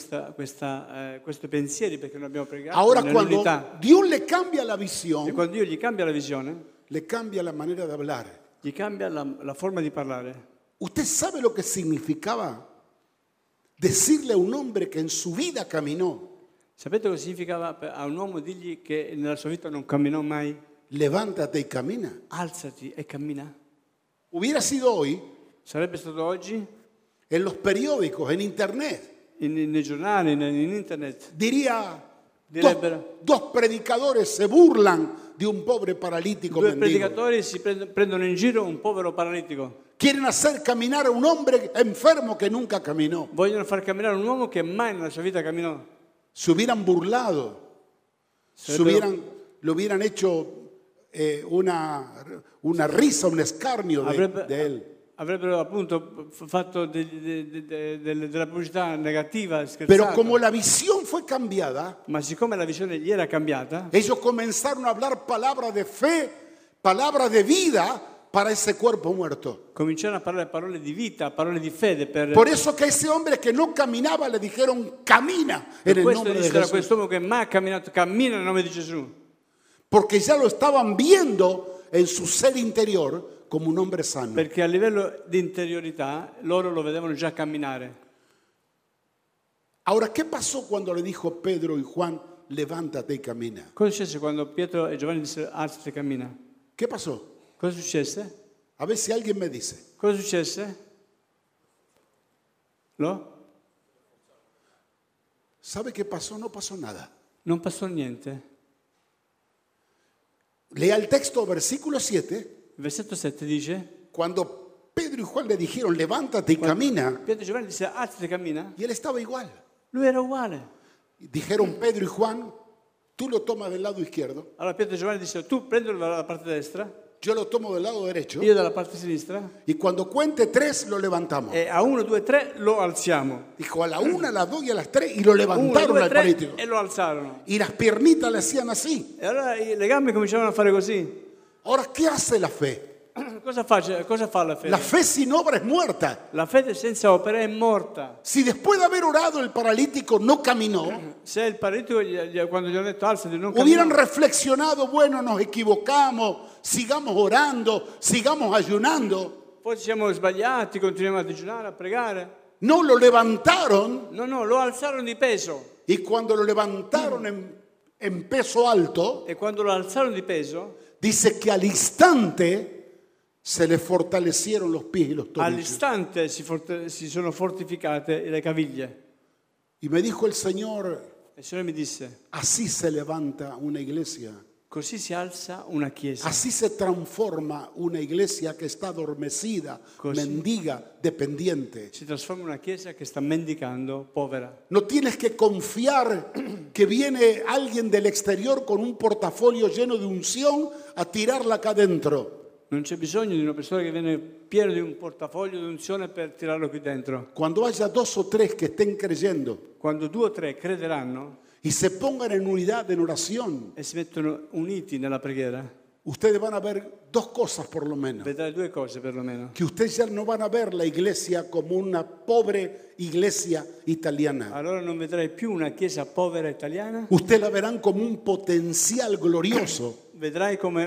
questi pensieri perché non abbiamo pregato Ahora cuando nell'unità. Dios le cambia la E visión, quando Dio gli cambia la visione, le cambia la manera de hablar. gli cambia la forma di parlare. ¿Usted sabe lo que significaba decirle a un hombre que en su vida caminó, Sapete cosa significava a un uomo dirgli che nella sua vita non camminò mai? levántate y camina? Alzati e cammina. Hubiera sido hoy Sarebbe stato oggi en los periódicos, en internet, nei giornali, in internet. diría, dos predicadores se burlan de un pobre paralítico Due mendigo. predicatori si prendono in giro un povero paralitico. Quieren hacer caminar a un hombre enfermo que nunca caminó. Vogliono far camminare un uomo che mai nella sua vita camminò. Se hubieran burlado, le hubieran hecho una risa, un escarnio de él. Avrebbero appunto fatto della pubblicità negativa, Pero scherzata. como la visión fue cambiada, Ma siccome la visione gli era cambiata, ellos comenzaron a hablar palabras de fe, palabras de vida para ese cuerpo muerto. cominciarono a parlare parole di vita, parole di fede. Por eso que ese hombre que no caminaba le dijeron, camina en Per el questo nombre de dissero a Jesús. quest'uomo che mai ha camminato, cammina nel nome di Gesù. Porque ya lo estaban viendo en su ser interior como un hombre sano. Perché a livello di interiorità loro lo vedevano già camminare. Ahora, ¿qué pasó cuando le dijo Pedro y Juan, levántate y camina? Cosa successe quando Pietro e Giovanni dissero alzati e cammina? ¿Qué pasó? Cosa successe? A ver si alguien me dice. Cosa successe? No? ¿Sabe qué pasó? No pasó nada. Non passò niente. Lea el texto, versículo 7. Il versetto 7 dice: Cuando Pedro y Juan le dijeron, levántate y camina, Pietro e Giovanni dissero alzati e cammina. y él estaba igual. Lui era uguale. Dijeron Pedro y Juan, tú lo tomas del lado izquierdo, Allora Pietro e Giovanni dissero: tu prendilo dalla parte destra, yo lo tomo del lado derecho, io dalla parte sinistra, y cuando cuente 3 lo levantamos. e a 1, 2, 3 lo alziamo. Dijo a la 1, a las 2 y a las 3, y lo 1, levantaron 2, al 3 paralítico. e lo alzarono. Y las piernitas le hacían así. E allora le gambe cominciavano a fare così. Ahora, ¿qué hace la fe? Cosa fa la fede? La fe sin obra es muerta. La fede senza opera è morta. Si después de haber orado el paralítico no caminó, Se il paralitico, quando gli hanno detto alzati, non hubieran camminò, reflexionado, bueno, nos equivocamos, sigamos orando, sigamos ayunando. poi ci siamo sbagliati, continuiamo a digiunare, a pregare. No, lo levantaron, No, lo alzarono di peso. y cuando lo levantaron en peso alto, E quando lo alzarono di peso, dice que al instante se le fortalecieron los pies y los tobillos. all'istante si sono fortificate le caviglie. Y me dijo el Señor, E il Signore mi disse: así se levanta una iglesia. così si alza una chiesa. Así se transforma una iglesia que está adormecida, Così. mendiga, dependiente. Si trasforma in una chiesa che sta mendicando, povera. No tienes que confiar que viene alguien del exterior con un portafolio lleno de unción a tirarla acá adentro. Non c'è bisogno di una persona che viene pieno di un portafoglio di unzione per tirarlo qui dentro. Cuando haya 2 o 3 que estén creyendo Quando 2 o 3 crederanno y se pongan en unidad en oración, e si mettono uniti nella preghiera, ustedes van a ver 2 cosas por lo menos. vedrai 2 cose perlomeno. Que ustedes ya no van a ver la iglesia como una pobre iglesia italiana. Allora non vedrai più una chiesa povera italiana, Ustedes la verán como un potencial glorioso. vedrai come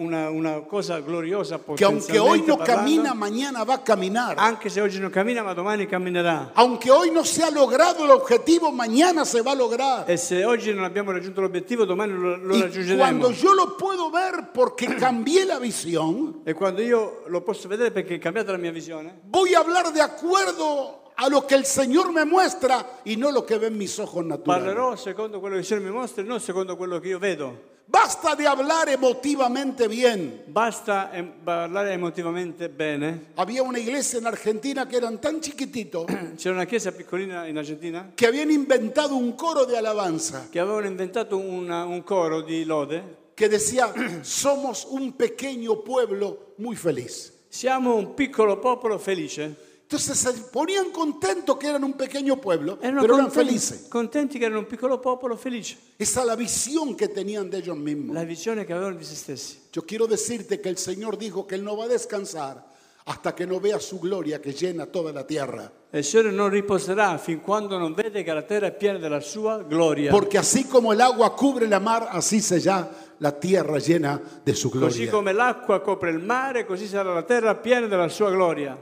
una cosa gloriosa, Que aunque hoy potenzialmente no parlando. camina, mañana va a caminar. Anche se oggi non cammina, ma domani camminerà. Aunque hoy no se ha logrado el objetivo, mañana se va a lograr. E se oggi non abbiamo raggiunto l'obiettivo, domani lo Y raggiungeremo. cuando yo lo puedo ver porque cambié la visión, E quando io lo posso vedere perché è cambiata la mia visione, voy a hablar de acuerdo a lo que el Señor me muestra y no lo que ven mis ojos naturales. parlerò secondo quello che il Signore mi mostra e non secondo quello che io vedo. Basta de hablar emotivamente bien. Basta parlare emotivamente bene. Había una iglesia en Argentina que eran tan chiquititos C'era una chiesa piccolina in Argentina que habían inventado un coro de alabanza che avevano inventato un coro di lode. que decía, somos un pequeño pueblo muy feliz. Siamo un piccolo popolo felice. Entonces se ponían contentos que eran un pequeño pueblo, Erano pero eran felices. contenti che erano un piccolo popolo felice. Esa es la visión que tenían de ellos mismos. La visione che avevano di se stessi. Yo quiero decirte que el Señor dijo que Él no va a descansar hasta que no vea su gloria que llena toda la tierra. E il Signore non riposerà fin quando non vede che la terra è piena della sua gloria. Porque así como el agua cubre la mar, así será la tierra llena de su Così gloria. come l'acqua copre il mare, così sarà la terra piena della sua gloria.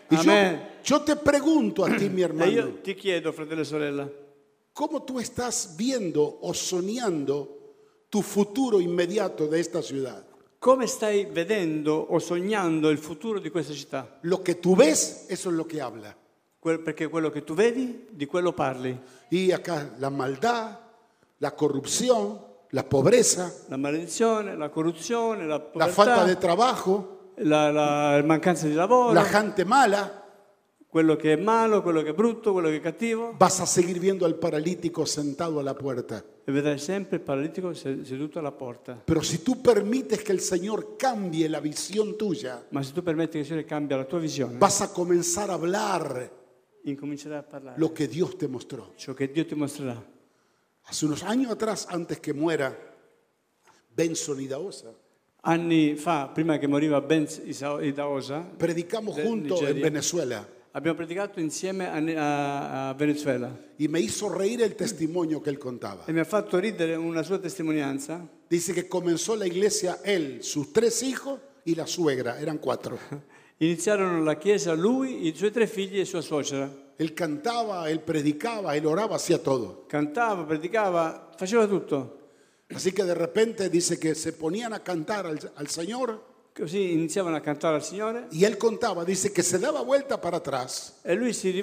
Y Amen. yo te pregunto a ti, mi E hermano, io ti chiedo, fratello e sorella, ¿cómo tú estás viendo o soñando tu futuro inmediato de esta ciudad? come stai vedendo o sognando il futuro di questa città? Lo que tú ves, eso es lo que habla. Perché quello che tu vedi, di quello parli. Y acá la maldad, la corrupción, la pobreza, La maledizione, la corruzione, la la falta de povertà, trabajo, la mancanza di lavoro, la gente mala. quello che è malo, quello che è brutto, quello che è cattivo. Vas a seguir viendo al paralítico sentado a la puerta. E vedrai sempre il paralitico seduto alla porta. Pero si tú permites que el Señor cambie la visión tuya, Ma se tu permetti che il Signore cambia la tua visione, vas a comenzar a hablar incomincerai a parlare lo que Dios te mostró. ciò che Dio ti mostrerà. Hace unos años atrás, antes que muera Benson Idaosa, Anni fa, prima che moriva Benz Idaosa, predicamos de juntos en Nigeria, Venezuela abbiamo predicato insieme a Venezuela y me hizo reír el testimonio que él contaba. e mi ha fatto ridere una sua testimonianza. Dice que comenzó la iglesia él, sus 3 hijos y la suegra, eran 4. Iniziarono la chiesa lui, i suoi 3 figli e sua suocera. Él cantaba, él predicaba, él oraba, hacía todo. Cantava, predicava, faceva tutto. Así que de repente dice que se ponían a cantar al Señor Così iniziavano a cantare al Signore y él contaba, dice que se daba vuelta para atrás e lui si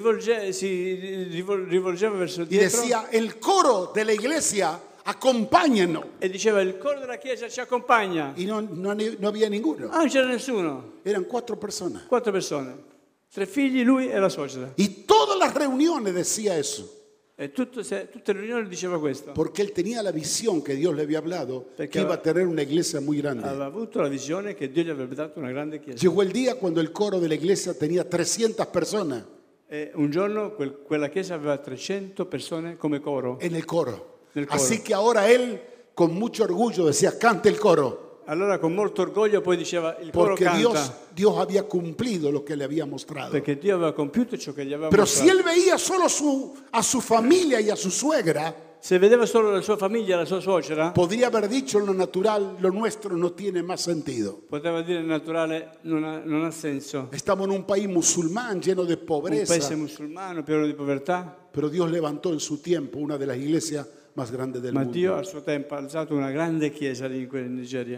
rivolgeva verso y dietro decía, el coro de la iglesia, acompáñennos. e diceva il coro della chiesa ci accompagna. Y no había ninguno. Ah, non c'era nessuno, Eran 4 personas. 4 persone, 3 figli, lui e la suocera. Y todas las reuniones decía eso. E tutte le riunioni diceva questo. Porque él tenía la visión que Dios le había hablado, Perché que iba a tener una iglesia muy grande. Aveva avuto la visione che Dio gli avrebbe dato una grande chiesa. Llegó el día cuando el coro de la iglesia tenía 300 personas E un giorno quella chiesa aveva 300 persone come coro. en el coro. Nel coro. Así que ahora él, con mucho orgullo, decía, cante el coro. Allora con molto orgoglio poi diceva il coro Porque canta. Dios había cumplido lo que le había mostrado. Perché Dio aveva compiuto ciò che gli aveva Pero si mostrato. él veía solo a su familia y a su suegra, Se vedeva solo la sua famiglia, la sua suocera, podría haber dicho en lo natural, lo nuestro no tiene más sentido. poteva dire naturale, non ha senso. Estamos en un país musulmán lleno de Un pobreza, paese musulmano pieno di povertà, pero Dios levantó en su tiempo una de las iglesias más grandes del ma mundo. Dio al suo tempo ha alzato una grande chiesa lì in Nigeria.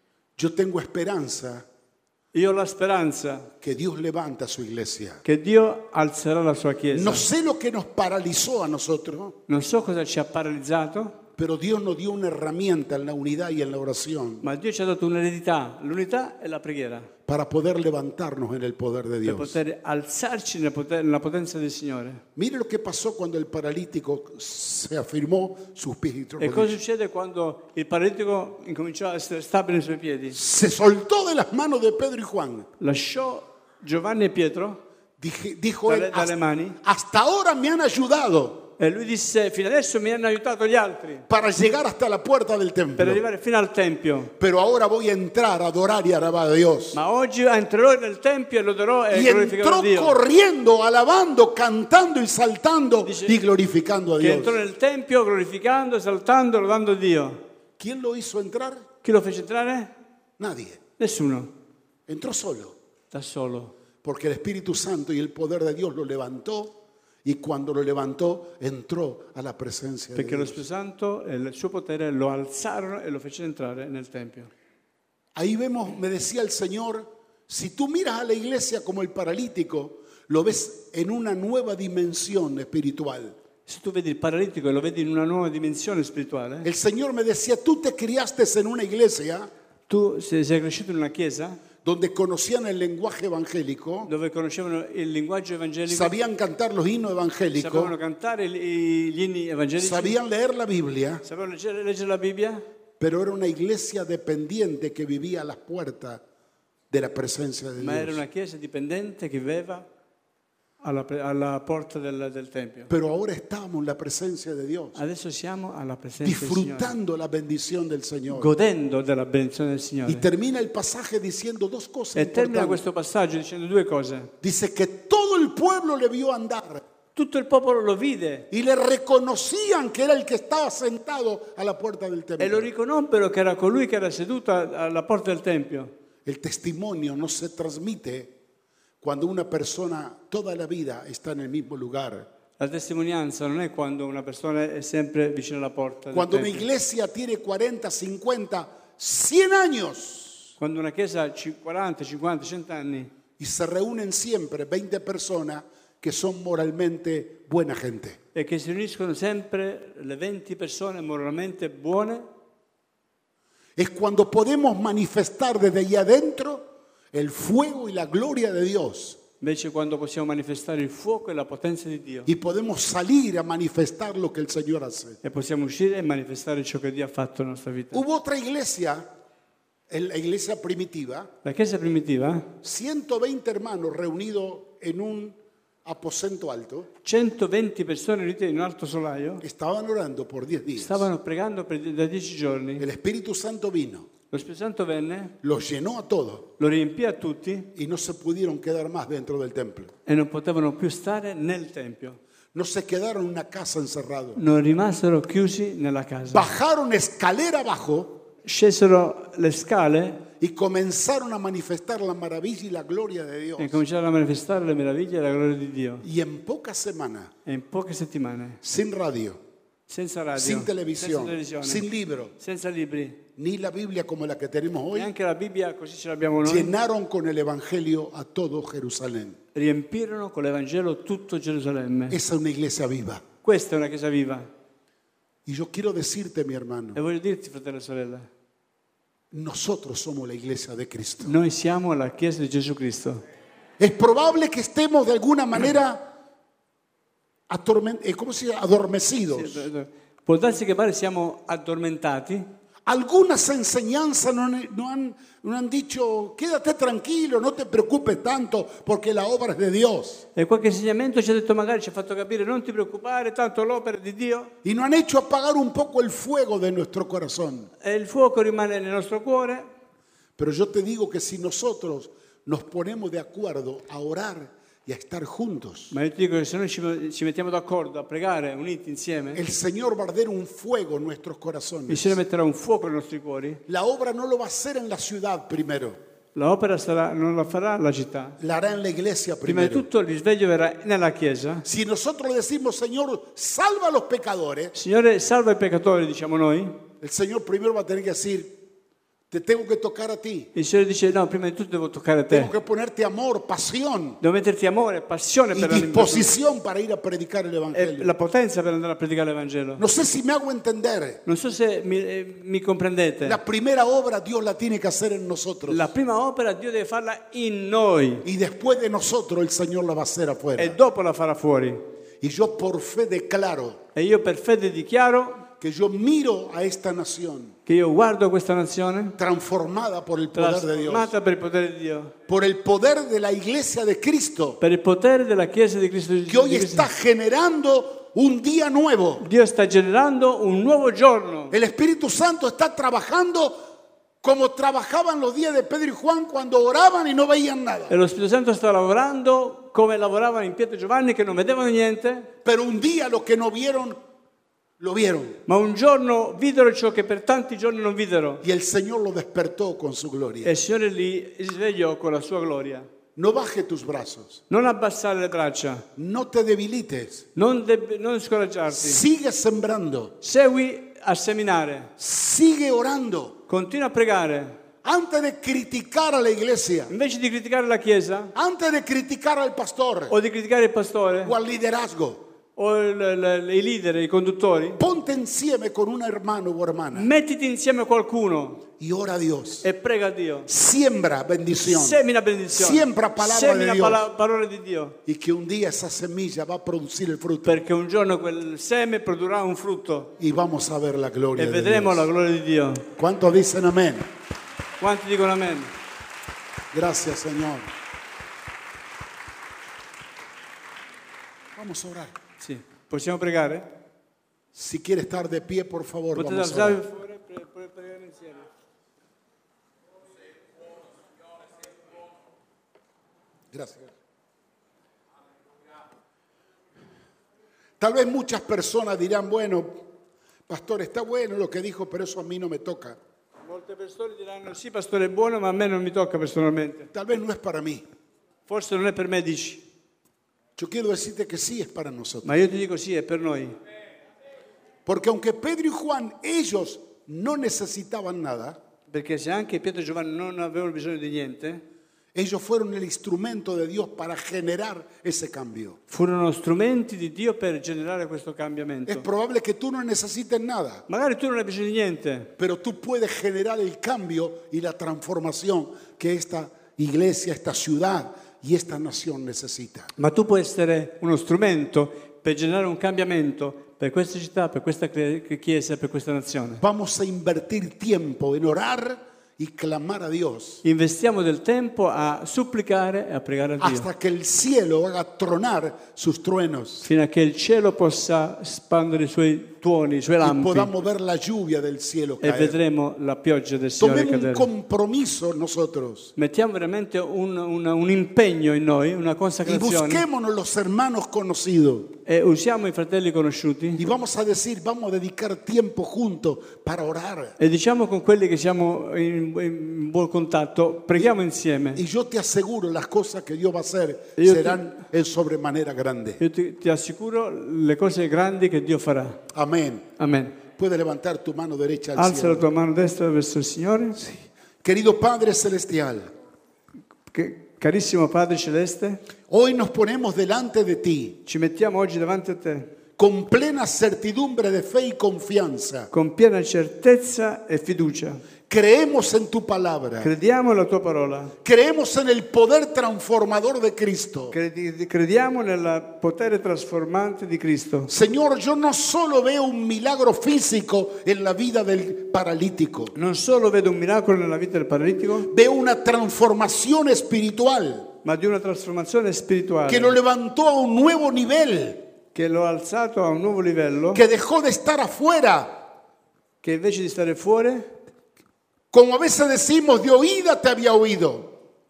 Yo tengo esperanza Io ho la speranza que Dios levanta su iglesia. che Dio alzerà la sua chiesa. No sé lo que nos paralizó a nosotros, Non so cosa ci ha paralizzato, pero Dios nos dio una herramienta en la unidad y en la oración ma Dio ci ha dato un'eredità, l'unità e la preghiera, para poder levantarnos en el poder de per Dios. poter alzarci nella potenza del Signore. Mire lo que pasó cuando el paralítico se afirmó sus pies y E cosa rodillas. succede quando il paralitico incominciò a essere stabile nei suoi piedi? Se soltó de las manos de Pedro y Juan. Lasciò Giovanni e Pietro Dijo él, dalle mani hasta ahora me han ayudado e lui disse: fino adesso mi hanno aiutato gli altri para llegar hasta la puerta del per templo. arrivare fino al Tempio, Pero ahora voy a entrar a adorar y alabar a Dios. ma oggi entrerò nel Tempio e loderò e Y glorificherò entró Dio. corriendo, alabando, cantando y saltando Dice y glorificando a Che Dios. entrò nel Tempio glorificando, esaltando, lodando Dio. ¿Quién lo hizo entrar? Chi lo fece entrare? Nadie. Nessuno, Entró solo. da solo. Porque el Espíritu Santo y el poder de Dios lo levantó. Y cuando lo levantó, entró a la presencia de Perché lo Dios. Spirito Santo e il suo potere lo alzarono e lo fecero entrare nel Tempio. Ahí vemos, me decía el Señor, si tú miras a la iglesia como el paralítico, lo ves en una nueva dimensión espiritual. Se tu vedi il paralitico e lo vedi in una nuova dimensione spirituale, El Señor me decía, tú te criaste en una iglesia tu sei cresciuto in una chiesa donde conocían el lenguaje evangélico, dove conoscevano il linguaggio evangelico, sabían cantar los himnos evangélicos, sapevano cantare gli inni evangelici, sabían leer la Biblia, sapevano leggere la Bibbia, pero era una iglesia dependiente que vivía a las puertas de la presencia de ma era Dios. una chiesa dipendente che viveva alla porta del Tempio. Pero ahora estamos en la presencia de Dios, Adesso siamo alla presenza del Signore, disfrutando la bendición del Señor. godendo della benedizione del Y Signore. termina el pasaje diciendo dos cosas E termina importantes. questo passaggio dicendo due cose. Dice que todo el pueblo le vio andar Tutto il popolo lo vide y le reconocían que era el que estaba sentado a la puerta del e lo templo. riconobbero che era colui che era seduto alla porta del Tempio. El testimonio no se transmite cuando una persona toda la vida está en el mismo lugar. La testimonianza non è quando una persona è sempre vicino alla porta del Cuando una tempio. iglesia tiene 40, 50, 100 años Quando una chiesa ha 40, 50, 100 anni y se reúnen siempre 20 personas que son moralmente buena gente. e che si riuniscono sempre le 20 persone moralmente buone, Es cuando podemos manifestar desde allí adentro el fuego y la gloria de Dios. invece quando possiamo manifestare il fuoco e la potenza di Dio Y podemos salir a manifestar lo que el Señor hace. e possiamo uscire e manifestare ciò che Dio ha fatto nella nostra vita. Hubo otra iglesia, la iglesia primitiva, La chiesa primitiva, 120 hermanos reunidos en un aposento alto, 120 persone riunite in un alto solaio, estaban orando por 10 días. stavano pregando da 10 giorni. El Espíritu Santo vino, Lo Spirito Santo venne, los llenó a todos lo riempì a tutti y no se pudieron quedar más dentro del templo. e non potevano più stare nel Tempio. No se quedaron en una casa encerrados. Non rimasero chiusi nella casa. Bajaron escalera abajo Scesero le scale y comenzaron a manifestar la maravilla y la gloria de Dios. e cominciarono a manifestare le meraviglie e la gloria di Dio. Y en pocas semanas, E in poche settimane, sin radio, senza radio, sin senza televisión, televisione, sin libro, senza libri, ni la Biblia como la que tenemos hoy, neanche la Bibbia così ce l'abbiamo noi, llenaron con el Evangelio a todo Jerusalén. riempirono con l'Evangelo tutto Gerusalemme. Esa es una iglesia viva. Questa è una chiesa viva. Y yo quiero decirte, mi hermano, E voglio dirti, fratello e sorella, nosotros somos la iglesia de Cristo. noi siamo la chiesa di Gesù Cristo. Es probable que estemos de alguna manera ¿cómo se llama? Adormecidos. Può darsi che magari siamo addormentati. Algunas enseñanzas no han dicho, quédate tranquilo, no te preocupes tanto porque la obra es de Dios. E qualche insegnamento ci ha detto, magari ci ha fatto capire, non ti preoccupare, tanto l'opera è di Dio. Y no han hecho apagar un poco el fuego de nuestro corazón. E il fuoco rimane nel nostro cuore. Pero yo te digo que si nosotros nos ponemos de acuerdo a orar y a estar juntos, Ma io ti dico che se noi ci mettiamo d'accordo a pregare uniti insieme, el Señor va a arder un fuego en nuestros il corazones. Signore metterà un fuoco nei nostri cuori. La obra no lo va a hacer en la ciudad primero, L'opera non la farà la città. la hará en la iglesia Prima di primero. tutto il risveglio verrà nella Chiesa. Si nosotros le decimos, Señor, salva a los pecadores, Signore, salva i peccatori, diciamo noi. el Señor primero va a tener que decir, te tengo que tocar a ti, Il Signore dice, no, prima di tutto devo toccare a tengo te. que ponerte amor, pasión Devo metterti amore, passione y per la disposición para ir a predicar el e Evangelio. la potenza per andare a predicare l'Evangelo. No sé si me hago entender. Non so se mi comprendete. La primera obra Dios la tiene que hacer en nosotros. La prima opera Dio deve farla in noi Y después de nosotros el Señor la va a hacer afuera. e dopo la farà fuori. Y yo por fe declaro E io per fede dichiaro que yo miro a esta nación che io guardo questa nazione transformada por el poder de Dios, trasformata per il potere di Dio, por el poder de la iglesia de Cristo, per il potere della Chiesa di Cristo que hoy di Cristo. está generando un día nuevo. Dio sta generando un nuovo giorno. El Espíritu Santo está trabajando como trabajaban los días de Pedro y Juan cuando oraban y no veían nada. E lo Spirito Santo sta lavorando come lavoravano in Pietro e Giovanni, che non vedevano niente, Pero un día lo que no vieron, lo vieron. ma un giorno videro ciò che per tanti giorni non videro. Y el Señor lo despertó con su E gloria. il Signore li svegliò con la sua gloria. No baje tus brazos. Non abbassare le braccia, No te debilites. non scoraggiarti. Sigue sembrando. Segui a seminare, Sigue orando. continua a pregare. Antes de criticar a la iglesia, Invece di criticare la Chiesa antes de criticar al pastor o di criticare il pastore o al liderazgo, o i leader, i conduttori, ponte insieme con un hermano o hermana mettiti insieme a qualcuno y ora a Dios. e prega a Dio. Siembra bendición. Semina benedizione. Siembra palabra Semina de Dios. parole di Dio. Y que un día esa semilla va a producir el fruto. Perché un giorno quel seme produrrà un frutto Y vamos a ver la gloria e de vedremo la Dios. gloria di Dio. ¿Cuántos dicen amén? Quanti dicono amen? Gracias, Señor. Vamos a orar. Sì. Possiamo pregare? Si quiere estar de pie, por favor, Potete vamos a alzarvi orar. fuori per pregare insieme. Gracias. Tal vez muchas personas dirán, bueno, pastor, está bueno lo que dijo, pero eso a mí no me toca. Molte persone diranno sì, pastore è buono, ma a me non mi tocca personalmente. Tal vez no es para mí. Forse non è per me, dici, Yo quiero decirte que sí es para nosotros. ma io ti dico sì, è per noi. Porque aunque Pedro y Juan, ellos no necesitaban nada, Perché se anche Pietro e Giovanni non avevano bisogno di niente, ellos fueron el instrumento de Dios para generar ese cambio. furono strumenti di Dio per generare questo Es cambiamento. probable que tú no necesites nada, Magari tu non hai bisogno di niente, pero tú puedes generar el cambio y la transformación que esta iglesia, esta ciudad y esta nación necesita. ma tu puoi essere uno strumento per generare un cambiamento per questa città, per questa chiesa, per questa nazione. Vamos a invertir tiempo en orar y clamar a Dios Investiamo del tempo a supplicare e a pregare a Dio, hasta que el cielo haga tronar sus truenos fino a che il cielo possa spandere i suoi tuoni, i suoi y lampi, podamos ver la lluvia del cielo e caer. vedremo la pioggia del Signore Tomemos un cadere. compromiso nosotros Mettiamo veramente un impegno in noi, una y consacrazione, busquémonos los hermanos conocidos e usiamo i fratelli conosciuti y vamos a decir, vamos a dedicar tiempo juntos para orar. e diciamo con quelli che siamo in buon contatto, preghiamo insieme. Y yo te aseguro, las cosas que Dios va a hacer Yo serán en sobremanera grande. Io ti assicuro le cose grandi che Dio farà. Amén. Amen. Puedes levantar tu mano derecha al Alza la cielo. tua mano destra verso il Signore. Querido Padre Celestial, Carissimo Padre Celeste, hoy nos ponemos delante de ti ci mettiamo oggi davanti a te con plena certidumbre de fe y confianza. con piena certezza e fiducia. Creemos en tu palabra. Crediamo nella tua parola. Creemos en el poder transformador de Cristo. Crediamo nel potere trasformante di Cristo. Señor, yo no solo veo un milagro físico en la vida del paralítico, Non solo vedo un miracolo nella vita del paralitico, veo una transformación espiritual ma di una trasformazione spirituale que lo levantó a un nuevo nivel, che lo ha alzato a un nuovo livello, que dejó de estar afuera. che invece di stare fuori, Como a veces decimos, de oída te había oído,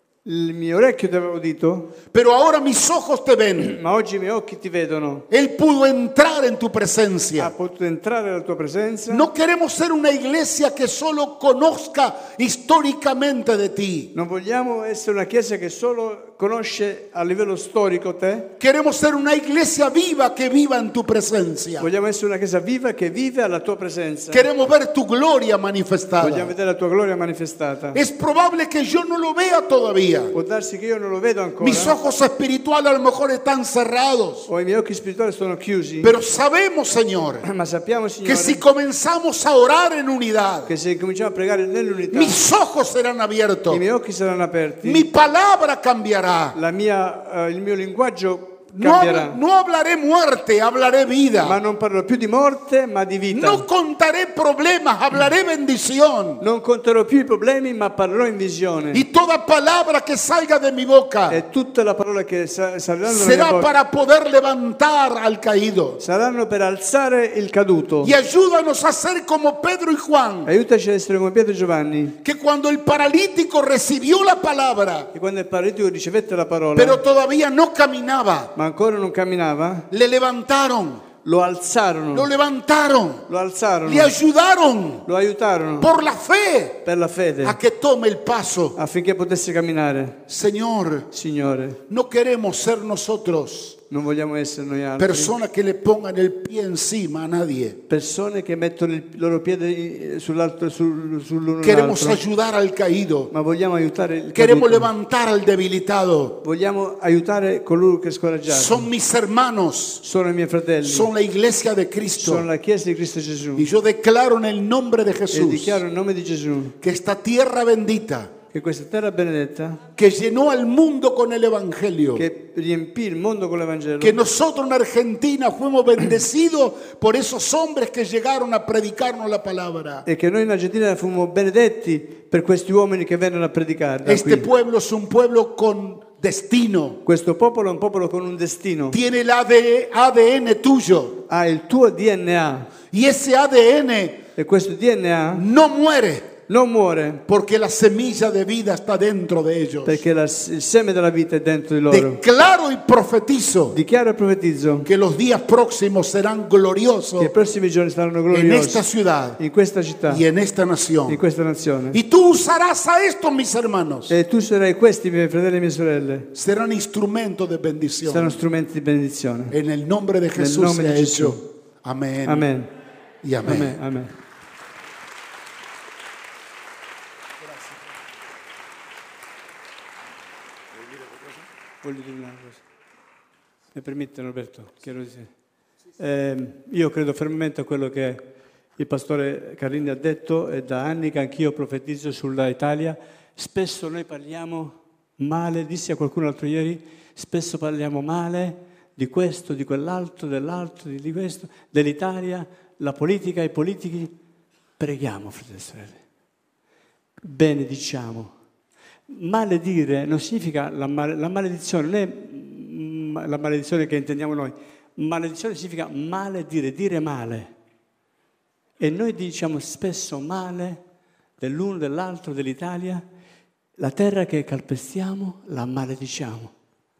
il mio orecchio ti aveva udito, pero ahora mis ojos te ven. ma oggi i miei occhi ti vedono. Él pudo entrar en tu Ha presencia. potuto entrare nella tua presenza. No queremos ser una iglesia que solo conozca históricamente de ti. Non vogliamo essere una chiesa che solo conosce a livello storico te. Queremos ser una iglesia viva que viva en tu presencia. Vogliamo essere una chiesa viva che vive alla tua presenza. Queremos ver tu gloria Vogliamo manifestada. vedere la tua gloria manifestata. Es probable que yo no lo vea todavía. Può darsi che io non lo vedo ancora. Mis ojos espirituales a lo mejor están cerrados. O i miei occhi spirituali sono chiusi. Pero sabemos, Señor, Ma sappiamo, que Signore, si comenzamos a orar en unidad, che se cominciamo a pregare nell'unità, mis ojos serán abiertos. i miei occhi saranno aperti. Mi palabra cambiará. Il mio linguaggio No, cambierà. no hablaré muerte, hablaré Ma vida. non parlo più di morte, ma di vita. No contaré problemas, hablaré bendición. Non conterò più i problemi, ma parlerò in visione. Y toda palabra que salga de mi boca E tutte le parole che saliranno dalla mia será bocca para poder levantar al caído. saranno per alzare il caduto. Y ayúdanos a ser como Pedro y Juan, Aiutaci a essere come Pietro e Giovanni, que cuando el paralítico recibió la palabra, che quando il paralitico ricevette la parola, pero todavía no caminaba, ma ancora non camminava, le levantaron, lo alzarono, lo levantaron, lo alzarono, le ayudaron lo aiutarono por la fe per la fede, a que tome el paso. affinché potesse camminare. Señor, Signore, no queremos ser nosotros non vogliamo essere noi altri personas que le pongan el pie encima a nadie. persone che mettono il loro piede sull'uno Queremos l'altro, ayudar al caído. ma vogliamo aiutare il Queremos caduto. levantar al debilitado. Vogliamo aiutare coloro che è scoraggiato. Son mis hermanos, Sono i miei fratelli, son la iglesia de sono Cristo. la Chiesa di Cristo Gesù. Y yo declaro en el nombre de E Jesús dichiaro in nome di Gesù que esta tierra bendita che questa terra benedetta, que llenó al mundo con el Evangelio, che riempì il mondo con l'Evangelo, que nosotros en Argentina fuimos bendecidos por esos hombres que llegaron a predicarnos la palabra. e che noi in Argentina fummo benedetti per questi uomini che vennero a predicare da Este qui. pueblo es un pueblo con destino. Questo popolo è un popolo con un destino, Tiene el ADN tuyo. ha il tuo DNA Y ese ADN e questo DNA no muere. non muore, porque la semilla de vida está dentro de ellos. perché il seme della vita è dentro di loro. Declaro y profetizo Dichiaro e profetizzo que los días próximos serán gloriosos che i prossimi giorni saranno en gloriosi esta ciudad in questa città, y en esta in nación. questa nazione. Y tú usarás a estos, mis hermanos. E tu sarai questi, miei fratelli e mie sorelle, Serán instrumentos de saranno bendición. strumenti di benedizione. En el nombre de Jesús nombre se ha de Jesús. hecho. Amén. Amen. Y amén. Amen. Amen. Voglio dire una cosa. Mi permette, Roberto? Io credo fermamente a quello che il pastore Carlini ha detto, e da anni che anch'io profetizzo sulla Italia. Spesso noi parliamo male, dissi a qualcuno l'altro ieri, spesso parliamo male di questo, di quell'altro, dell'altro, di questo, dell'Italia, la politica, i politici. Preghiamo, fratelli e sorelle. Benediciamo. Maledire non significa la maledizione, non è la maledizione che intendiamo noi. Maledizione significa maledire, dire male. E noi diciamo spesso male dell'uno, dell'altro, dell'Italia. La terra che calpestiamo la malediciamo.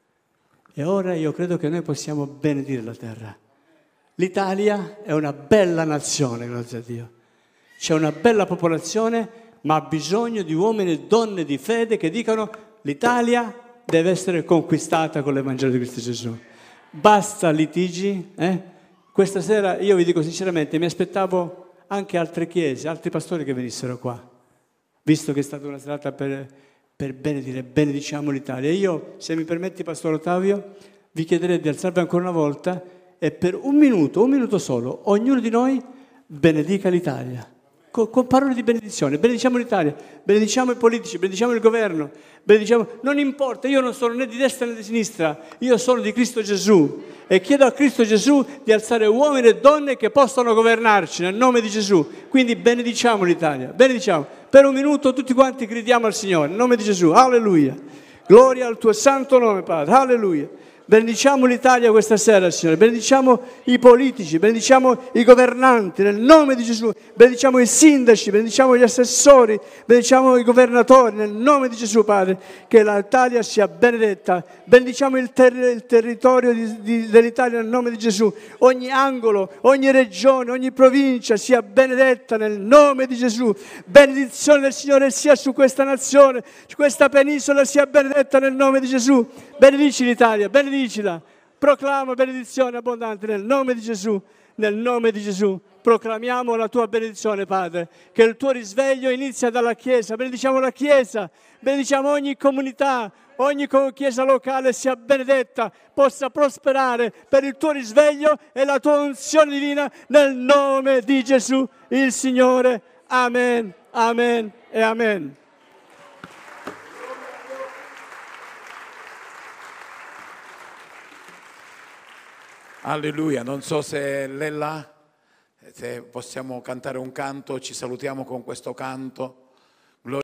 E ora io credo che noi possiamo benedire la terra. L'Italia è una bella nazione, grazie a Dio. C'è una bella popolazione, ma ha bisogno di uomini e donne di fede che dicano: l'Italia deve essere conquistata con l'Evangelo di Cristo Gesù. Basta litigi. Questa sera, io vi dico sinceramente, mi aspettavo anche altre chiese, altri pastori che venissero qua, visto che è stata una serata per benedire, benediciamo l'Italia. Io, se mi permetti, Pastore Ottavio, vi chiederei di alzarvi ancora una volta e per un minuto solo, ognuno di noi benedica l'Italia. Con parole di benedizione, benediciamo l'Italia, benediciamo i politici, benediciamo il governo, benediciamo, non importa, io non sono né di destra né di sinistra, io sono di Cristo Gesù e chiedo a Cristo Gesù di alzare uomini e donne che possano governarci nel nome di Gesù. Quindi benediciamo l'Italia, benediciamo. Per un minuto tutti quanti gridiamo al Signore, nel nome di Gesù, alleluia. Gloria al tuo santo nome, Padre, alleluia. Benediciamo l'Italia questa sera, Signore, benediciamo i politici, benediciamo i governanti nel nome di Gesù, benediciamo i sindaci, benediciamo gli assessori, benediciamo i governatori nel nome di Gesù, Padre, che l'Italia sia benedetta, benediciamo il territorio dell'Italia nel nome di Gesù, ogni angolo, ogni regione, ogni provincia sia benedetta nel nome di Gesù, benedizione del Signore sia su questa nazione, su questa penisola sia benedetta nel nome di Gesù, benedici l'Italia, benedicila, proclama benedizione abbondante nel nome di Gesù, nel nome di Gesù. Proclamiamo la tua benedizione, Padre, che il tuo risveglio inizia dalla Chiesa, benediciamo la Chiesa, benediciamo ogni comunità, ogni chiesa locale sia benedetta, possa prosperare per il tuo risveglio e la tua unzione divina nel nome di Gesù, il Signore. Amen, amen e amen. Alleluia, non so se lei là, se possiamo cantare un canto, ci salutiamo con questo canto.